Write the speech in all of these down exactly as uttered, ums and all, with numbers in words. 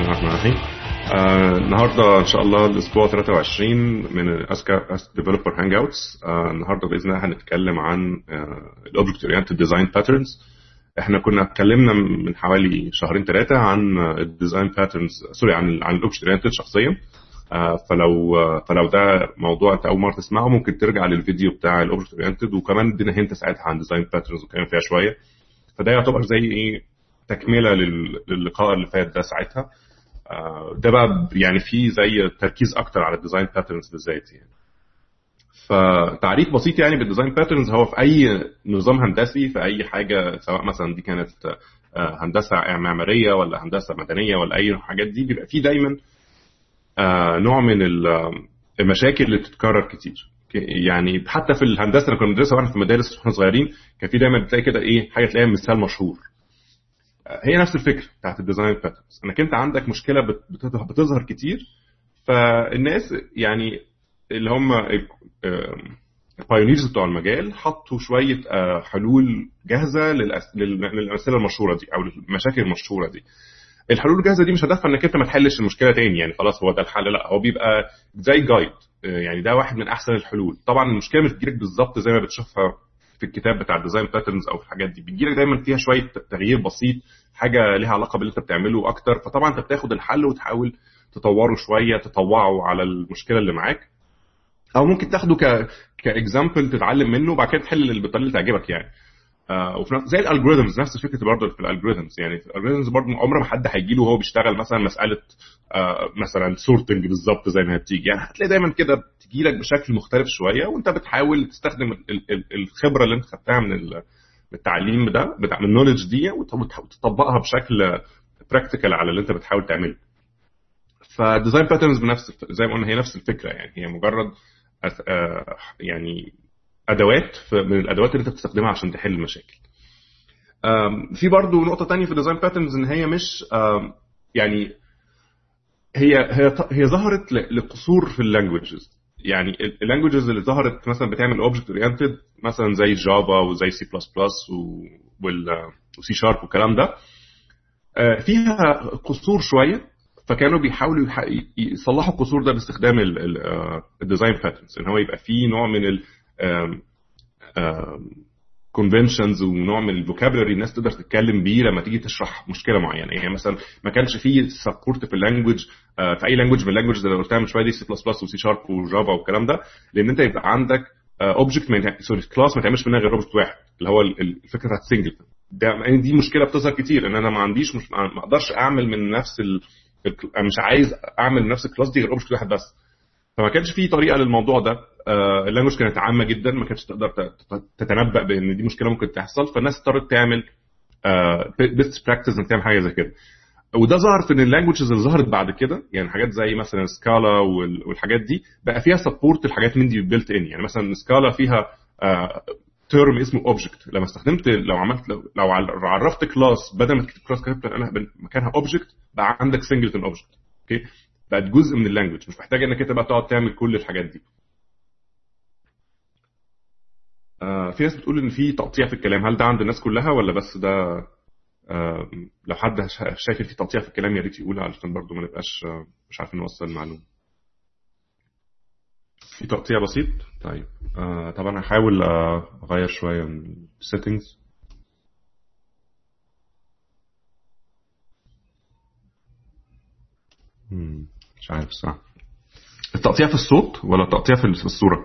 الله الرحمن الرحيم. آه النهارده ان شاء الله الاسبوع ثلاثة وعشرين من اسكا اسك ديفلوبر هانج اوتس. النهارده باذن الله هنتكلم عن الاوبجكت اورينتد ديزاين باترنز. احنا كنا اتكلمنا من حوالي شهرين ثلاثه عن الديزاين باترنز سوري عن عن الاوبجكت اورينتد شخصيا. آه فلو فلو ده موضوع انت اول مره تسمعه ممكن ترجع للفيديو بتاع الاوبجكت اورينتد، وكمان ادينا هنت ساعتها عن ديزاين باترنز وكان فيها شويه. فده يعتبر زي ايه تكمله للقاء اللي فات ده ساعتها. ده بقى يعني في زي تركيز اكتر على الديزاين باترنز بالذات يعني. فتعريف بسيط يعني بالديزاين باترنز هو في اي نظام هندسي، في اي حاجه سواء مثلا دي كانت هندسه معماريه ولا هندسه مدنيه ولا اي حاجات دي، بيبقى في دايما نوع من المشاكل اللي بتتكرر كتير. يعني حتى في الهندسه اللي كنا بندرسها واحنا في المدارس واحنا صغيرين كان في دايما بتلاقي كده ايه حاجه تلاقيها مثال مشهور. هي نفس الفكره بتاعت الديزاين باترنز، انك انت عندك مشكله بتظهر كتير، فالناس يعني اللي هم البايونيرز بتوع المجال حطوا شويه حلول جاهزه للامثله المشهوره دي او المشاكل المشهوره دي. الحلول الجاهزه دي مش هدفها انك انت ما تحلش المشكله تاني يعني خلاص هو ده الحل، لا هو بيبقى زي جايد يعني. ده واحد من احسن الحلول. طبعا المشكله مش بتجيلك بالظبط زي ما بتشوفها في الكتاب بتاع الديزاين باترنز او في الحاجات دي، بتجيلك دايما فيها شويه تغيير بسيط، حاجه ليها علاقه باللي انت بتعمله اكتر. فطبعا انت بتاخد الحل وتحاول تطوره شويه، تطوعه على المشكله اللي معاك، او ممكن تاخده ك كاكزامبل تتعلم منه وبعد كده تحل بالطريقه اللي تعجبك يعني. آه وفي زي الالجوريثمز نفس فكره برضه في الالجوريثمز يعني. في الالجوريثمز برضه عمر ما حد هيجي له وهو بيشتغل مثلا مساله آه مثلا سورتنج بالظبط زي ما بتيجي يعني. هتلاقي دايما كده بتجي لك بشكل مختلف شويه، وانت بتحاول تستخدم الخبره اللي انت خدتها من التعليم ده بتاع من النولج دي وتطبقها بشكل براكتيكال على اللي انت بتحاول تعمله. فالديزاين باترنز بنفس زي ما قلنا هي نفس الفكره يعني. هي مجرد آه يعني ادوات من الادوات اللي انت بتستخدمها عشان تحل المشاكل. في برضو نقطه تانية في الديزاين باترنز ان هي مش يعني هي هي هي ظهرت لقصور في اللانجويجز يعني. اللانجويجز اللي ظهرت مثلا بتعمل اوبجكت اورينتد مثلا زي جافا وزي سي بلس بلس وسي شارب والكلام ده فيها قصور شويه، فكانوا بيحاولوا يصلحوا القصور ده باستخدام الديزاين باترنز، ان هو يبقى فيه نوع من ال conventions ونوع من الفوكابولري الناس تقدر تتكلم بيه لما تيجي تشرح مشكله معينه يعني. مثلا ما كانش فيه سبورت في اللانجويج في اي لانجويج من اللانجويج اللي قلتها من شويه دي سي بلس بلس وسي شارب وجافا والكلام ده، لان انت يبقى عندك اوبجكت سوري كلاس ما تعملش منها غير اوبجكت واحد اللي هو الفكره بتاعت سنجل. ده دي مشكله بتظهر كتير ان انا ما عنديش مش ما اقدرش اعمل من نفس ال... مش عايز اعمل من نفس الكلاس دي غير اوبجكت واحد بس. فما كانش فيه طريقه للموضوع ده. آه اللانجويج كانت عامه جدا، ما كانتش تقدر تتنبأ بان دي مشكله ممكن تحصل، فالناس اضطرت تعمل بيست براكتس انك تعمل حاجه زي كده. وده ظهر في اللانجويجز اللي ظهرت بعد كده يعني. حاجات زي مثلا سكالا والحاجات دي بقى فيها سبورت الحاجات من دي بيلت ان يعني. مثلا سكالا فيها آه تيرم اسمه اوبجكت، لما استخدمت لو عملت لو, لو عرفت كلاس بدل ما تكتب كلاس كتبت انا مكانها اوبجكت بقى عندك سنجلتون اوبجكت. اوكي بقت جزء من اللانجويج، مش محتاج انك انت بقى تقعد تعمل كل الحاجات دي. آه في ناس بتقول ان في تقطيع في الكلام، هل ده عند الناس كلها ولا بس ده؟ آه لو حد شايف ان في تقطيع في الكلام يا ريت يقولها علشان برضو ما نبقاش آه مش عارفين نوصل المعلومه. في تقطيع بسيط. طيب آه طبعا هحاول آه اغير شويه من السيتنجز. مش عارف صح التقطيع في الصوت ولا التقطيع في الصوره؟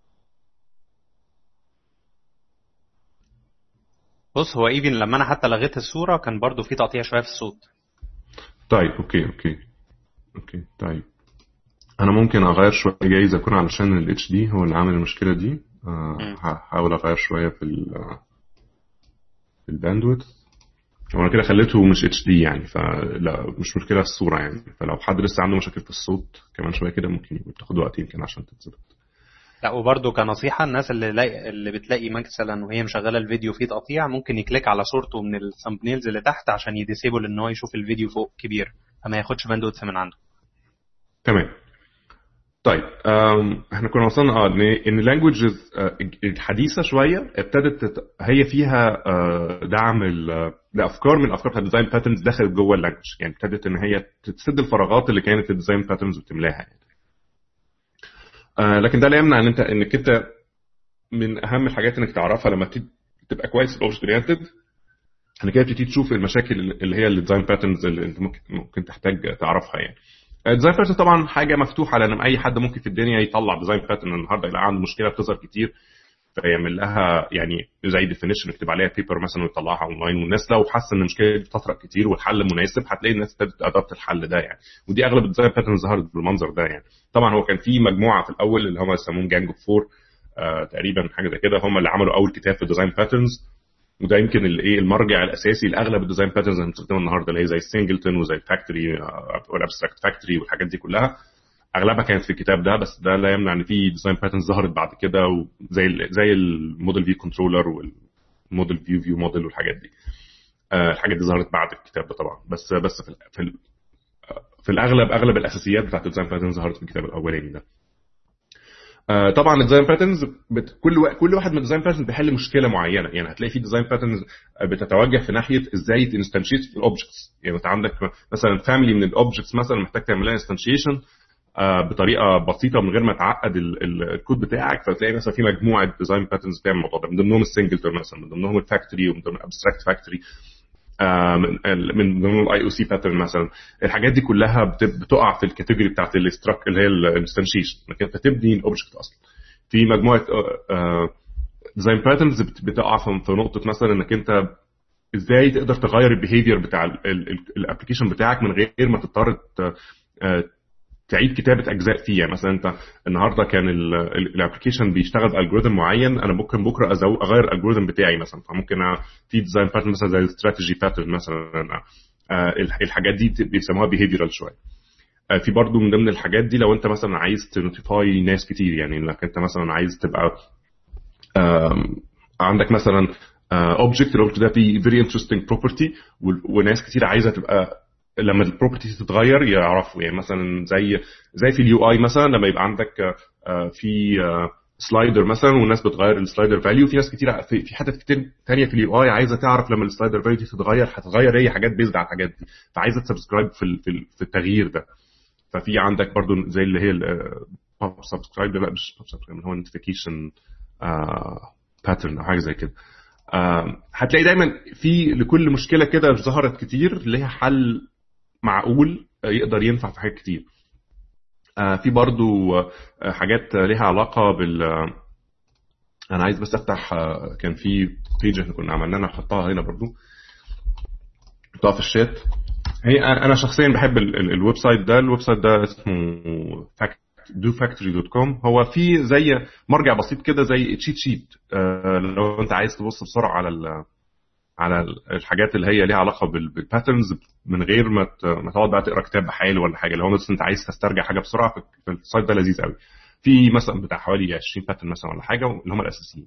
بص هو ايفن لما انا حتى لغيت الصوره كان برضو في تقطيع شويه في الصوت. طيب اوكي اوكي اوكي طيب انا ممكن اغير شويه جايز اكون علشان الاتش دي هو اللي عامل المشكله دي. أه هحاول اغير شويه في في الباندويث. وانا كده خليته مش اتش دي يعني، فلا مش مشكله في الصوره يعني. فلو حد لسه عنده مشاكل في الصوت كمان شويه كده ممكن تاخد وقت يمكن عشان تتظبط. لا وبرضو كنصيحه الناس اللي لاقي اللي بتلاقي مثلا وهي مشغله الفيديو فيه تقطيع ممكن يكليك على صورته من الثامبنيلز اللي تحت عشان يديسيبل ان هو يشوف الفيديو فوق كبير فما ياخدش باندويث من عنده. تمام. طيب احنا كنا وصلنا اه ان اللانجويجز الحديثه شويه ابتدت تت... هي فيها دعم لافكار من الافكار بتاعت الديزاين باترنز دخلت جوه اللانجويج، يعني ابتدت ان هي تسد الفراغات اللي كانت الديزاين باترنز وتملاها يعني. آه لكن ده لا يمنع ان انت انك انت من اهم الحاجات انك تعرفها لما تبقى كويس في الاوبجكت اورينتد، انك كده بتبتدي تشوف المشاكل اللي هي الديزاين باترنز اللي انت ممكن ممكن تحتاج تعرفها يعني. الديزاين باترن طبعا حاجه مفتوحه، لان اي حد ممكن في الدنيا يطلع ديزاين باترن النهارده يلاقي عنده مشكله بتظهر كتير فيعمل لها يعني زي ديفينيشن يكتب عليها بيبر مثلا ويطلعها اونلاين، والناس لو حاسه ان المشكله دي بتطرق كتير والحل مناسب هتلاقي الناس ابتدت تادبت الحل ده يعني. ودي اغلب الديزاين باترن ظهرت بالمنظر ده يعني. طبعا هو كان في مجموعه في الاول اللي هم يسموهم جانج اوف فور آه تقريبا حاجه زي كده، هم اللي عملوا اول كتاب في الديزاين باترنز، وده يمكن الايه المرجع الاساسي لاغلب الديزاين باترنز اللي بنستخدمها النهارده اللي هي زي السنجلتون وزي الفاكتوري والابستراكت فاكتوري والحاجات دي كلها، اغلبها كانت في الكتاب ده. بس ده لا يمنع ان في ديزاين باترنز ظهرت بعد كده وزي زي الموديل في كنترولر والموديل فيو فيو موديل والحاجات دي. آه الحاجات دي ظهرت بعد الكتاب ده طبعا، بس بس في في, في الاغلب اغلب الاساسيات بتاعت الديزاين باترنز ظهرت في الكتاب الاولاني ده. آه طبعا الديزاين باترنز بت... كل و... كل واحد من الديزاين باترنز بيحل مشكله معينه يعني. هتلاقي في ديزاين باترنز بتتوجه في ناحيه ازاي تنستنشيت الاوبجكتس، يعني انت عندك مثلا فاميلي من الاوبجكتس مثلا محتاج تعمل لها انستنشيشن آه بطريقه بسيطه من غير ما تعقد ال... ال... الكود بتاعك، فتلاقي مثلا في مجموعه ديزاين باترنز بتعمل الموضوع ده، من ضمنهم السنجلتون مثلا، من ضمنهم الفاكتوري، ومن ضمنهم الابستراكت فاكتوري، آه من من ضمن الاي او سي باترن مثلا. الحاجات دي كلها بت... بتقع في الكاتيجوري بتاعت الاستراك اللي هي الانستنشيشن، انك انت تبني الاوبجكت اصلا. في مجموعه ديزاين باترنز بتقع في نقطه مثلا انك انت ازاي تقدر تغير البيهيفير بتاع الابلكيشن بتاعك من غير ما تضطر تعيد كتابه اجزاء فيه. يعني مثلا انت النهارده كان الابلكيشن بيشتغل بالجوريثم معين، انا ممكن بكره اغير الالجوريثم بتاعي مثلا، فممكن في ديزاين باترن مثلا زي الاستراتيجي باترن مثلا. الحاجات دي بيسموها بيهيفيرال شويه. في برضو من ضمن الحاجات دي لو انت مثلا عايز تنوتيفاي ناس كتير، يعني انك انت مثلا عايز تبقى عندك مثلا اوبجكت، الاوبجكت ده فيه فيري انترستينج بروبرتي وناس كتير عايزه تبقى لما البروبرتي تتغير يعرفوا. يعني مثلا زي زي في اليو اي مثلا لما يبقى عندك في سلايدر مثلا والناس بتغير السلايدر فاليو، في ناس كتير في حتت كتير ثانيه في اليو اي عايزه تعرف لما السلايدر فاليو دي تتغير هتتغير هي حاجات بيزد على الحاجات دي، فعايزه تسبسكرايب في في التغيير ده. ففي عندك برضو زي اللي هي البوب سبسكرايب، لا مش بوب سبسكرايب، هو نوتيفيكيشن باترن او حاجه زي كده. هتلاقي دايما في لكل مشكله كده ظهرت كتير ليها حل معقول يقدر ينفع في حاجات كتير. في برضو حاجات ليها علاقه بال انا عايز بس افتح، كان في بيج احنا كنا عملناها نحطها هنا برضو نحطها في الشات. هي انا شخصيا بحب الويب سايت ده. الويب سايت ده اسمه دو فاكتوري دوت كوم. هو في زي مرجع بسيط كده زي تشيت شيت لو انت عايز تبص بسرعه على على الحاجات اللي هي ليها علاقه بالباترنز من غير ما ما تقعد بقى تقرا كتاب بحاله ولا حاجه. لو انت عايز تسترجع حاجه بسرعه في السايت ده لذيذ قوي. في مثلا بتاع حوالي عشرين باترن مثلا ولا حاجه اللي هم الاساسيين.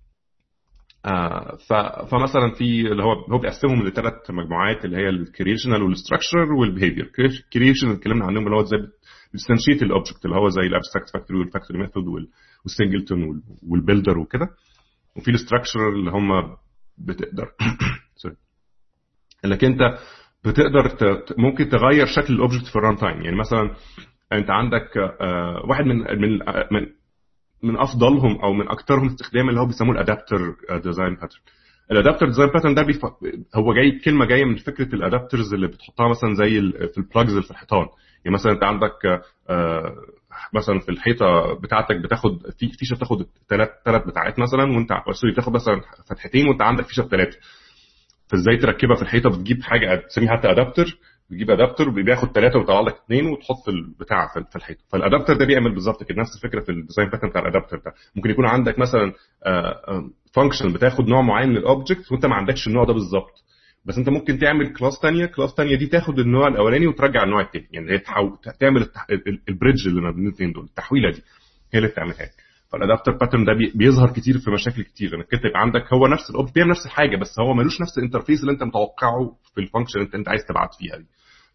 آه فمثلا في اللي هو هو بيقسمهم لثلاث مجموعات اللي هي الكريشنال والستراكشر والبيهيفير. كريشن اتكلمنا عنهم اللي هو ازاي بتستنشيت الاوبجكت اللي هو زي الابستراكت فاكتوري والفاكتوري ميثود والسنجلتون والبيلدر وكده. وفي الستراكشر اللي هم بتقدر سوري انك انت بتقدر ت... ممكن تغير شكل الاوبجكت في الران تايم. يعني مثلا انت عندك آه واحد من من من من افضلهم او من اكثرهم استخداما اللي هو بيسموه الادابتر ديزاين باترن. الادابتر ديزاين باترن ده بيف... هو جاي كلمه جايه من فكره الادابترز اللي بتحطها مثلا زي ال... في البلاجز اللي في الحيطان. يعني مثلا انت عندك آه مثلا في الحيطه بتاعتك بتاخد في فيشه بتاخد ثلاث ثلاث بتاعات مثلا، وانت سوري بتاخد مثلا فتحتين وانت عندك فيشه بثلاثه. فازاي تركبها في الحيطه؟ بتجيب حاجه تسميها حتى ادابتر، بتجيب ادابتر بياخد ثلاثه ويطلع لك اثنين وتحط البتاع في الحيطه. فالادابتر ده بيعمل بالظبط كده نفس الفكره في الديزاين باترن بتاع الادابتر ده. ممكن يكون عندك مثلا فانكشن بتاخد نوع معين من الاوبجكت وانت ما عندكش النوع ده بالظبط، بس انت ممكن تعمل كلاس ثانيه، كلاس ثانيه دي تاخد النوع الاولاني وترجع النوع الثاني. يعني هي تحاول تعمل البريدج اللي ما بين الاثنين دول، التحويله دي هي اللي بتعملها. فالادابتر باترن ده بيظهر كتير في مشاكل كتير، انك انت يبقى عندك هو نفس الاوبجكت بيعمل نفس الحاجه بس هو ملوش نفس الانترفيس اللي انت متوقعه في الفانكشن اللي انت عايز تبعت فيها دي.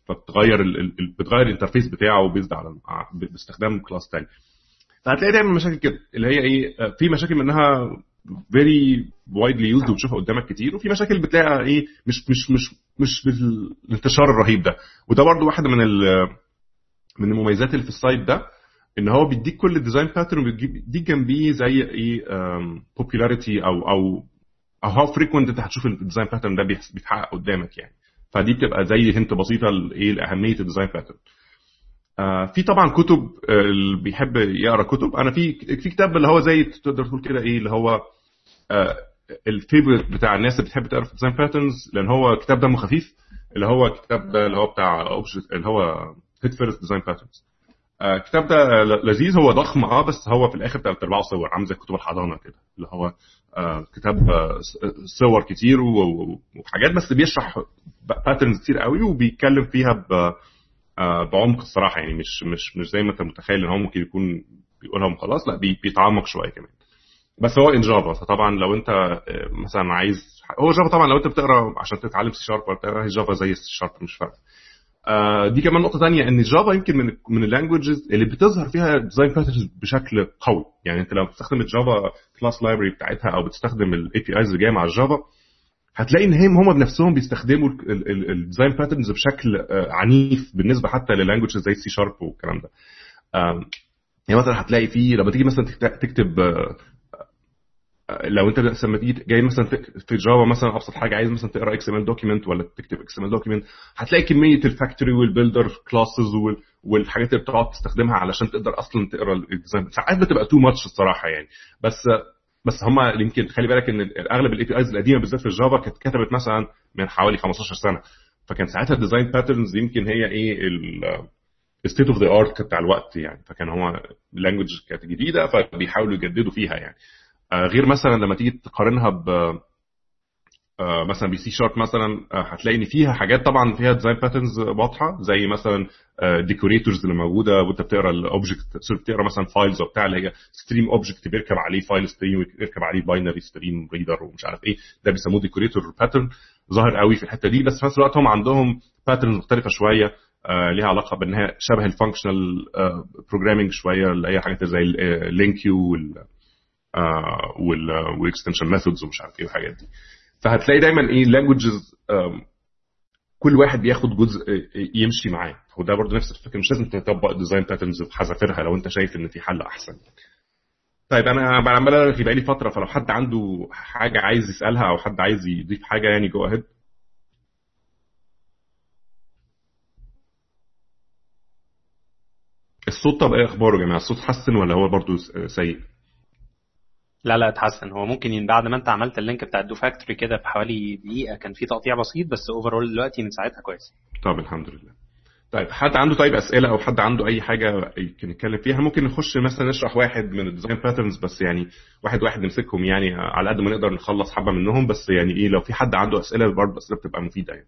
فبتغير ال... ال... بتغير الانترفيس بتاعه بيزد على باستخدام كلاس تاني. فهتلاقي دايما مشاكل كده اللي هي ايه، في مشاكل منها very widely used وبتشوفها قدامك كتير، وفي مشاكل بتلاقيها ايه مش مش مش مش بالانتشار الرهيب ده. وده برضو واحده من ال... من المميزات اللي في السايت ده، ان هو بيديك كل الديزاين باترن وبيديك جنبيه زي ايه popularity او او او هاو فريكوينت انت هتشوف الديزاين باترن ده بيتحقق قدامك يعني. فدي بتبقى زي هنت بسيطه لايه لاهميه الديزاين باترن. آه في طبعا كتب اللي بيحب يقرا كتب، انا في في كتاب اللي هو زي تقدر تقول كده ايه اللي هو آه الفيفورت بتاع الناس اللي بتحب تقرا في الديزاين باترنز، لان هو كتاب دمه خفيف، اللي هو الكتاب ده اللي هو بتاع اللي هو هيت فيرست ديزاين باترنز. الكتاب ده لذيذ، هو ضخم اه بس هو في الاخر ثلاث ارباعه صور، عامل زي كتب الحضانه كده، اللي هو آه كتاب آه صور كتير وحاجات، بس بيشرح باترنز كتير قوي وبيتكلم فيها ب آه بعمق الصراحه يعني، مش مش مش زي ما انت متخيل ان هو ممكن يكون بيقولهم خلاص، لا بيتعمق شويه كمان. بس هو ان جافا، فطبعا لو انت مثلا عايز، هو جافا طبعا لو انت بتقرا عشان تتعلم سي شارب ولا بتقرا جافا زي السي شارب مش فارقه. آه دي كمان نقطه ثانيه، ان جافا يمكن من من اللانجويجز اللي بتظهر فيها ديزاين باترنز بشكل قوي. يعني انت لو بتستخدم الجافا كلاس لايبرري بتاعتها او بتستخدم الاي بي ايز اللي جايه مع الجافا، هتلاقي ان هم هم بنفسهم بيستخدموا الديزاين باترنز بشكل آه عنيف بالنسبه حتى للانجويجز زي السي شارب والكلام ده. آه يعني مثلا هتلاقي فيه لما تيجي مثلا تكتب آه لو انت لما تيجي جاي مثلا في جافا مثلا ابسط حاجه عايز مثلا تقرا اكس ام ال دوكيمنت ولا تكتب اكس ام ال دوكيمنت، هتلاقي كميه الفاكتوري والبيلدر كلاسز والحاجات اللي بتقعد تستخدمها علشان تقدر اصلا تقرا الديزاين. ساعات بتبقى تو ماتش الصراحه يعني، بس بس هم يمكن خلي بالك ان اغلب الاي بي ايز القديمه بالذات في الجافا كانت كتبت مثلا من حوالي خمستاشر سنه، فكان ساعتها الديزاين باترنز يمكن هي ايه الستيت اوف ذا ارت بتاع الوقت يعني، فكان هو اللانجويج كانت جديده فبيحاولوا يجددوا فيها يعني. غير مثلا لما تيجي تقارنها ب مثلا بي سي شارب مثلا، هتلاقي ان فيها حاجات طبعا فيها ديزاين باترنز واضحه، زي مثلا ديكوريتورز اللي موجوده وانت بتقرا الاوبجكت، بتقرا مثلا فايلز وبتاع اللي هي ستريم اوبجكت بيركب عليه فايل ستريم ويركب عليه باينري ستريم ريدر ومش عارف ايه، ده بيسموه ديكوريتور باترن، ظاهر قوي في الحته دي. بس في نفس الوقت هم عندهم باترنز مختلفه شويه آه ليها علاقه بانها شبه الفانكشنال بروجرامينج شويه، اللي هي حاجات زي اللينك يو وال آه والاكستنشن ميثودز ومش عارف ايه والحاجات دي. فهتلاقي دايما ايه اللانجويجز كل واحد بياخد جزء يمشي معاه، وده برضه نفس الفكره، مش لازم تطبق ديزاين باترنز بحذافيرها لو انت شايف ان في حل احسن. طيب انا عمال بقى لي فتره، فلو حد عنده حاجه عايز يسالها او حد عايز يضيف حاجه يعني جو اهيد. الصوت طب ايه اخباره يا جماعه؟ الصوت حسن ولا هو برضه سيء؟ لا لا اتحسن. هو ممكن بعد ما انت عملت اللينك بتاع الدو فاكتوري كده في حوالي دقيقه كان في تقطيع بسيط، بس اوفرول دلوقتي من ساعتها كويس. طب الحمد لله. طيب حد عنده طيب اسئله او حد عنده اي حاجه يمكن نتكلم فيها؟ ممكن نخش مثلا نشرح واحد من الديزاين باترنز بس يعني واحد واحد نمسكهم يعني على قد ما نقدر نخلص حبه منهم، بس يعني ايه لو في حد عنده اسئله برضه اسئله بتبقى مفيده يعني.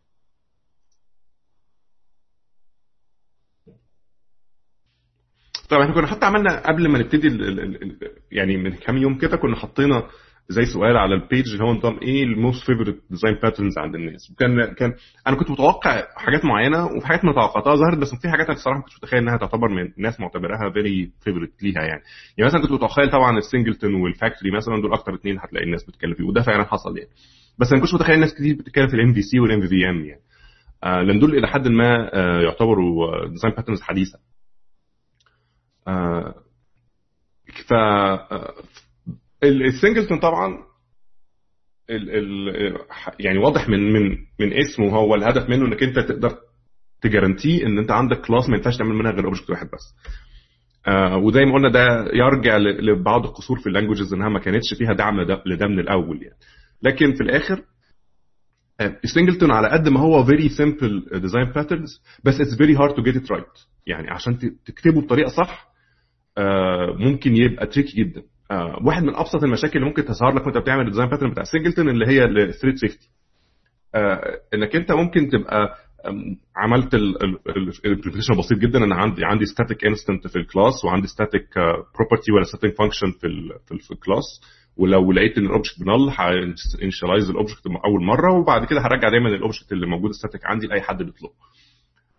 طبعا احنا كنا حتى عملنا قبل ما نبتدي ال ال يعني من كام يوم كده كنا حطينا زي سؤال على البيج اللي هو نظام ايه الموست فيفورت ديزاين باترنز عند الناس، وكان كان انا كنت متوقع حاجات معينه وفي حاجات ما توقعتها ظهرت، بس في حاجات انا الصراحه ما كنتش متخيل انها تعتبر من الناس معتبرها فيري فيفورت ليها يعني. يعني مثلا كنت متخيل طبعا السنجلتون والفاكتوري مثلا دول اكتر اثنين هتلاقي الناس بتتكلم فيه، وده فعلا حصل يعني. بس انا ما كنتش متخيل الناس كتير بتتكلم في الام في سي والام في في ام يعني، آه لان دول الى حد ما آه يعتبروا ديزاين باترنز حديثه. آه ف السنجلتون طبعا ال ال يعني واضح من من من اسمه، هو الهدف منه انك انت تقدر تجارنتي ان انت عندك كلاس ما ينفعش تعمل منها غير اوبجكت واحد بس. آه وزي ما قلنا ده يرجع لبعض القصور في اللانجويجز انها ما كانتش فيها دعم لده من الاول يعني. لكن في الاخر السنجلتون على قد ما هو very simple design patterns بس it's very hard to get it right يعني، عشان تكتبه بطريقه صح آه ممكن يبقى تريكي جدا. آه واحد من ابسط المشاكل اللي ممكن تظهر لك وانت بتعمل الديزاين باترن بتاع سنجلتون اللي هي الثريد سيفتي، آه انك انت ممكن تبقى عملت الامبلمنتيشن بسيط جدا، انا عندي عندي ستاتيك انستنت في الكلاس وعندي ستاتيك بروبرتي ولا ستاتيك فانكشن في في الكلاس، ولو لقيت ان الاوبجكت بنل هانيشاليز الاوبجكت اول مره وبعد كده هرجع دايما الاوبجكت اللي موجود ستاتيك عندي لاي حد بيطلبه.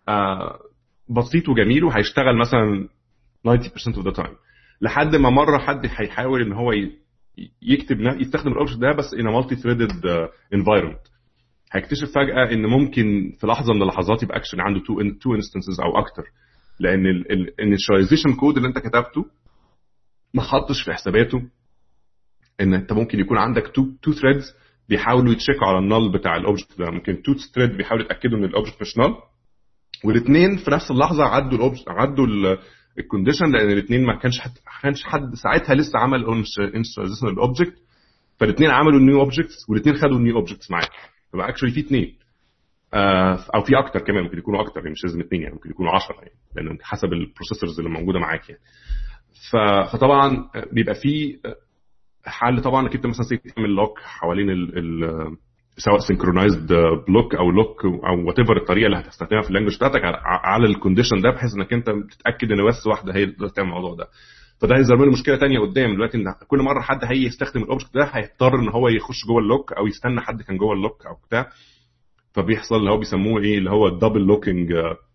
آه بسيط وجميل وهيشتغل مثلا ninety percent of the time، لحد ما مره حد هيحاول ان هو يكتب يستخدم الاوبجكت ده بس in a multi threaded uh, environment، هيكتشف فجاه ان ممكن في لحظه من اللحظات يبقى اكشن عنده two two instances او اكتر، لان الانيشاليزيشن كود اللي انت كتبته ما حطش في حساباته ان انت ممكن يكون عندك two two threads بيحاولوا يتشيكوا على النال بتاع الاوبجكت ده، ممكن two thread بيحاولوا يتاكدوا ان الاوبجكت مش نال، والاثنين في نفس اللحظه عدوا الاوبجكت عدوا الكونديشن، لان الاثنين ما كانش حد ما كانش حد ساعتها لسه عمل انيشاليزيشن للاوبجكت، فالاثنين عملوا نيو اوبجكتس والاثنين خدوا النيو اوبجكتس معاك، فبقى اكشلي في اثنين او في اكتر كمان، ممكن يكونوا اكتر يعني مش لازم اثنين يعني ممكن يكونوا عشرة يعني، لان حسب البروسيسورز اللي موجوده معاك يعني. فطبعا بيبقى في حل طبعا انك انت مثلا تعمل لوك حوالين ال ال سواء سينكرونايزد بلوك او لوك او وات ايفر الطريقه اللي هتستخدمها في اللانجويج بتاعتك على الكونديشن ده، بحيث انك انت تتاكد ان بس واحده هي اللي تعمل الموضوع ده. فده هيظهر له مشكله ثانيه قدام دلوقتي، ان كل مره حد هيجي يستخدم الاوبجكت ده هيضطر ان هو يخش جوه اللوك او يستنى حد كان جوه اللوك او بتاع، فبيحصل اللي هو بيسموه ايه اللي هو الدبل لوكينج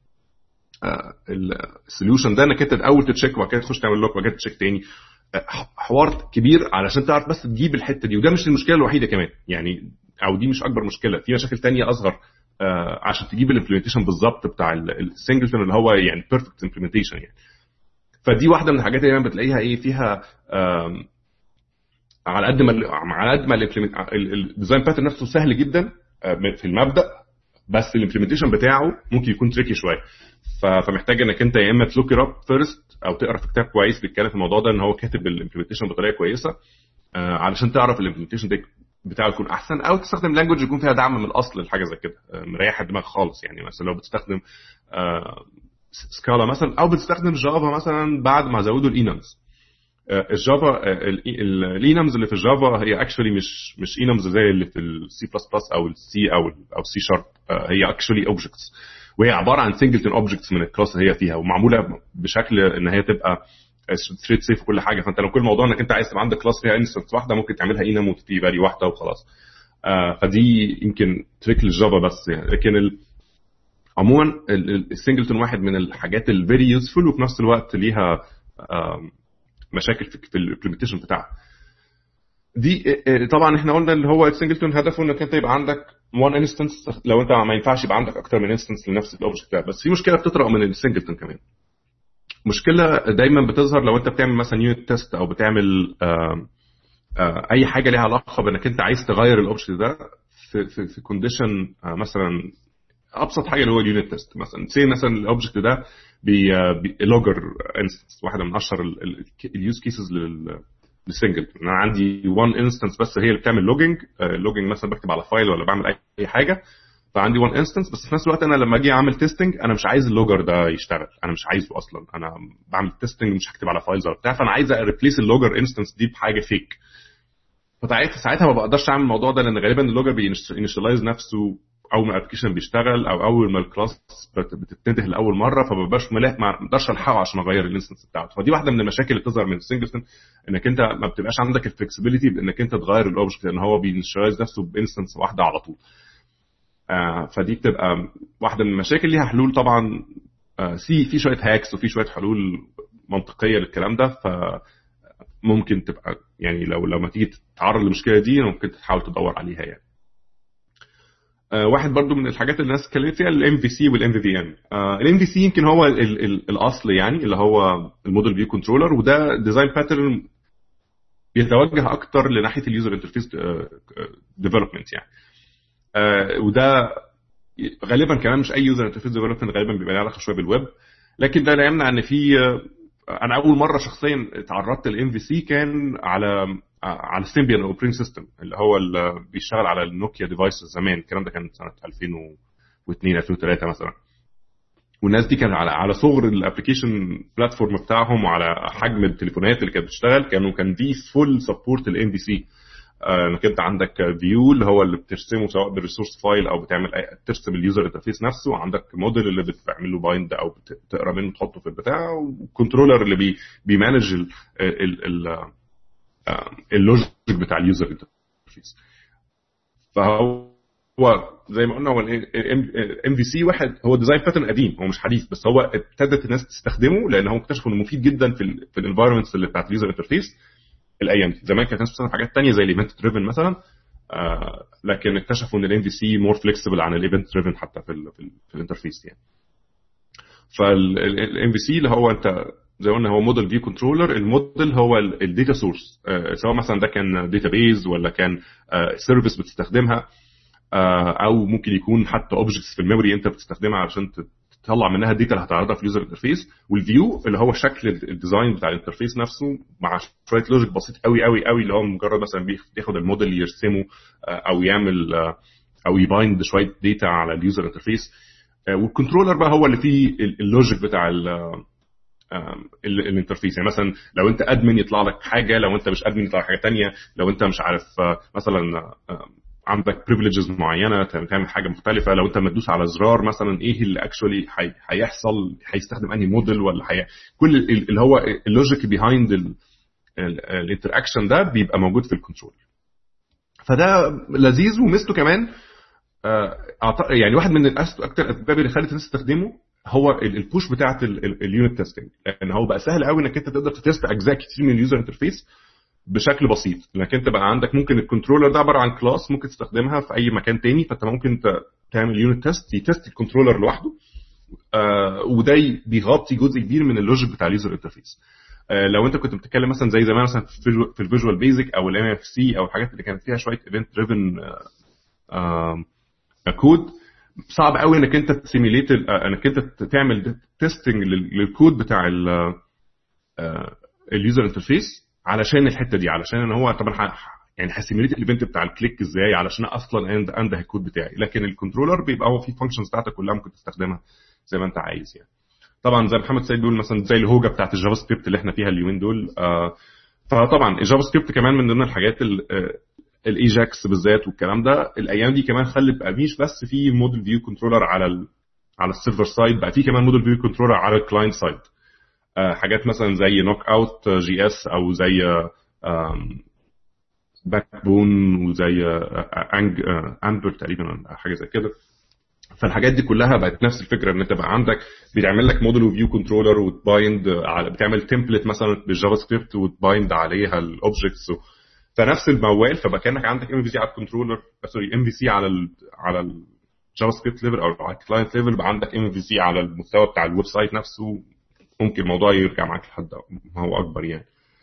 السوليوشن ده، انك انت الاول تتشيك وبعد كده تخش تعمل لوك وبعد كده تشيك تاني، حوار كبير علشان تعرف بس تجيب الحته دي. وده مش المشكله الوحيده كمان يعني، او دي مش اكبر مشكله، في مشاكل تانية اصغر آه عشان تجيب الامبلمنتيشن بالظبط بتاع السنجلتون اللي هو يعني بيرفكت امبلمنتيشن يعني. فدي واحده من الحاجات اللي بتلاقيها ايه فيها آه على قد ما على قد ما الديزاين باترن نفسه سهل جدا آه في المبدا، بس الامبلمنتيشن بتاعه ممكن يكون تريكي شويه، فمحتاج انك انت يا اما تلوك اب فيرست او تقرا في كتاب كويس بيتكلم في الموضوع ده ان هو كاتب الامبلمنتيشن بطريقه كويسه آه علشان تعرف الامبلمنتيشن ده بتاعه يكون احسن، او تستخدم لانجويج يكون فيها دعم من الاصل لحاجه زي كده آه مريح الدماغ خالص يعني. مثلا لو بتستخدم آه سكالا مثلا او بتستخدم جافا مثلا بعد ما زودوا الانمز آه الجافا آه الانمز اللي في الجافا هي اكشولي مش مش انمز زي اللي في السي بلس بلس او السي او او سي شارب آه هي اكشولي اوبجكتس، وهي عباره عن سنجلتون اوبجكتس من الكلاس اللي هي فيها، ومعموله بشكل ان هي تبقى ثريد سيف وكل حاجه. فانت لو كل موضوع انك انت عايز تبقى عندك كلاس فيها انستنس واحده ممكن تعملها انم وتبقى فاليو واحده وخلاص آه فدي يمكن تريك للجافا بس يعني. لكن ال... عموما السنجلتون واحد من الحاجات الفيري يوزفول وفي نفس الوقت ليها آه مشاكل في الامبلمنتيشن بتاعها دي. طبعا احنا قلنا اللي هو السنجلتون هدفه انك انت يبقى عندك وان انستنس، لو انت ما ينفعش يبقى عندك اكتر من انستنس لنفس الاوبجكت ده. بس في مشكله بتطرق من السنجلتون كمان، مشكله دايما بتظهر لو انت بتعمل مثلا يونت تيست او بتعمل آآ آآ اي حاجه ليها علاقه بانك انت عايز تغير الاوبجكت ده في في في كونديشن مثلا. ابسط حاجه اللي هو اليونت تيست مثلا، سي مثلا الاوبجكت ده بلوجر انستنس، واحده من اشهر اليوز كيسز لل السنجل. انا عندي وان انستنس بس هي اللي بتعمل لوجينج لوجينج مثلا بكتب على فايل ولا بعمل اي حاجه، فعندي وان انستنس بس في نفس الوقت انا لما اجي اعمل تيستنج انا مش عايز اللوجر ده يشتغل، انا مش عايزه اصلا، انا بعمل تيستنج مش هكتب على فايلز ولا بتاع، فانا عايز اريبليس اللوجر انستنس دي بحاجه فيك. فساعتها ما بقدرش اعمل الموضوع ده، لان غالبا اللوجر بينيشاليز نفسه اول ما الابلكيشن بيشتغل او اول ما الكلاس بتتنده لاول مره، فما ببقاش ملاك ما اقدرش الحقه عشان اغير الانستنس بتاعته. فدي واحده من المشاكل اللي بتظهر من السنجلتون، انك انت ما بتبقاش عندك الفلكسبيليتي بانك انت تغير الاوبجكت لان هو بينيشاليز نفسه بانستنس واحده على طول. آه فدي بتبقى واحده من المشاكل، ليها حلول طبعا آه سي في شويه هاكس وفي شويه حلول منطقيه للكلام ده، فممكن تبقى يعني لو لما تيجي تتعرض للمشكله دي ممكن تحاول تدور عليها يعني. آه واحد برضو من الحاجات اللي الناس اتكلمت فيها الام في سي والام في في ام. الام في سي يمكن هو ال ال الاصل يعني، اللي هو الموديل فيو كنترولر، وده ديزاين باترن بيتوجه اكتر لناحيه اليوزر انترفيس ديفلوبمنت يعني. آه وده غالبا كمان مش اي يوزر انترفيس ديفلوبمنت، غالبا بيبقى له علاقه شويه بالويب، لكن ده لا يمنع ان في انا اول مره شخصيا اتعرضت للام في سي كان على على سيمبيان اوبريتنج سيستم اللي هو اللي بيشتغل على النوكيا ديفايسز زمان، الكلام ده كان سنه ألفين واثنين ألفين وثلاثة مثلا. والناس دي كان على على صغر الابلكيشن بلاتفورم بتاعهم وعلى حجم التليفونات اللي كانت بتشتغل، كانوا كان في فول سبورت للام في سي. انك انت عندك فيو اللي هو اللي بترسمه سواء بالريسورس فايل او بتعمل ترسم اليوزر انترفيس نفسه، وعندك موديل اللي بتعمل له بايند او بتقرا منه تحطه في البتاع، وكنترولر اللي بي بيمانج ال ال اللوجيك بتاع اليوزر انترفيس. فهو هو زي ما قلنا هو الام في سي واحد هو ديزاين باترن قديم، هو مش حديث، بس هو ابتدت الناس تستخدمه لان هو اكتشفوا انه مفيد جدا في ال في الانفايرمنتس اللي بتاعت اليوزر انترفيس الايام دي. زمان كانت الناس بتستخدم حاجات ثانيه زي الايفنت دريفن مثلا، آه لكن اكتشفوا ان الام في سي مور فليكسبل عن الايفنت دريفن حتى في ال في, ال في الانترفيس يعني. فالام في سي اللي هو انت زي ما قلنا هو موديل فيو كنترولر. الموديل هو الداتا سورس، آه سواء مثلا ده كان داتابيز ولا كان سيرفيس آه بتستخدمها، او ممكن يكون حتى اوبجكتس في الميموري انت بتستخدمها عشان تطلع منها الداتا اللي هتعرضها في اليوزر انترفيس. والفيو اللي هو شكل الديزاين بتاع الانترفيس نفسه مع شويه لوجيك بسيط قوي قوي قوي اللي هو مجرد مثلا بياخد الموديل يرسمه او يعمل او يبايند شويه داتا على اليوزر انترفيس. والكنترولر بقى هو اللي فيه اللوجيك بتاع الانترفيس. يعني مثلا لو انت ادمن يطلع لك حاجه، لو انت مش ادمن يطلع لك حاجه ثانيه، لو انت مش عارف مثلا عندك بريفليجز معينه تعمل حاجه مختلفه، لو انت مدوس على زرار مثلا ايه اللي اكشولي هيحصل، هيستخدم انهي موديل ولا حي... كل اللي هو اللوجيك بيهايند الانتراكشن ده بيبقى موجود في الكنترول. فده لذيذ. ومثله كمان يعني واحد من اكتر الاسباب اللي خلت الناس تستخدمه هو البوش بتاعه اليونت تيستنج، لان هو بقى سهل قوي انك انت تقدر تتست اجزاء كتير من اليوزر انترفيس بشكل بسيط. لكن انت بقى عندك ممكن الكنترولر ده عباره عن كلاس ممكن تستخدمها في اي مكان تاني، فانت ممكن تعمل يونت تيست يتست الكنترولر لوحده، آه وده بيغطي جزء كبير من اللوجيك بتاع اليوزر انترفيس. آه لو انت كنت بتتكلم مثلا زي زمان مثلا في الفيجوال بيزك او الام اف سي او الحاجات اللي كانت فيها شويه ايفنت دريفن كود، صعب قوي انك انت تسيميليت انك انت تعمل تيستنج للكود بتاع اليوزر انترفيس علشان الحته دي، علشان ان هو طبعا يعني هسيميليت الايفنت بتاع الكليك ازاي علشان اصلا اند اند الكود بتاعي. لكن الكنترولر بيبقى هو فيه فانكشنز بتاعتك كلها ممكن تستخدمها زي ما انت عايز يعني. طبعا زي محمد سيد بيقول مثلا زي الهوجه بتاعت الجافا سكريبت اللي احنا فيها اليومين دول، آه فطبعا الجافا سكريبت كمان من ضمن الحاجات الايجاكس بالذات والكلام ده الايام دي كمان خلت بقى مش بس في موديل فيو كنترولر على ال على السيرفر سايد، بقى في كمان موديل فيو كنترولر على الكلاينت سايد. آه حاجات مثلا زي نوك اوت جي اس او زي باك بون وزي انج امبر تقريبا حاجه زي كده. فالحاجات دي كلها بقت نفس الفكره، ان انت بقى عندك بيعمل لك موديل فيو كنترولر وتبايند على بتعمل تمبلت مثلا بالجافا سكريبت وتبايند عليها الاوبجكتس، فنفس الموال. فبقى كانك عندك ام في سي على الكنترولر سوري ام في سي على ال على الجافا سكريبت ليفل او على الكلاينت ليفل، بقى عندك ام في سي على المستوى بتاع الويب سايت نفسه. ممكن الموضوع يرجع معاك لحد ما هو اكبر يعني.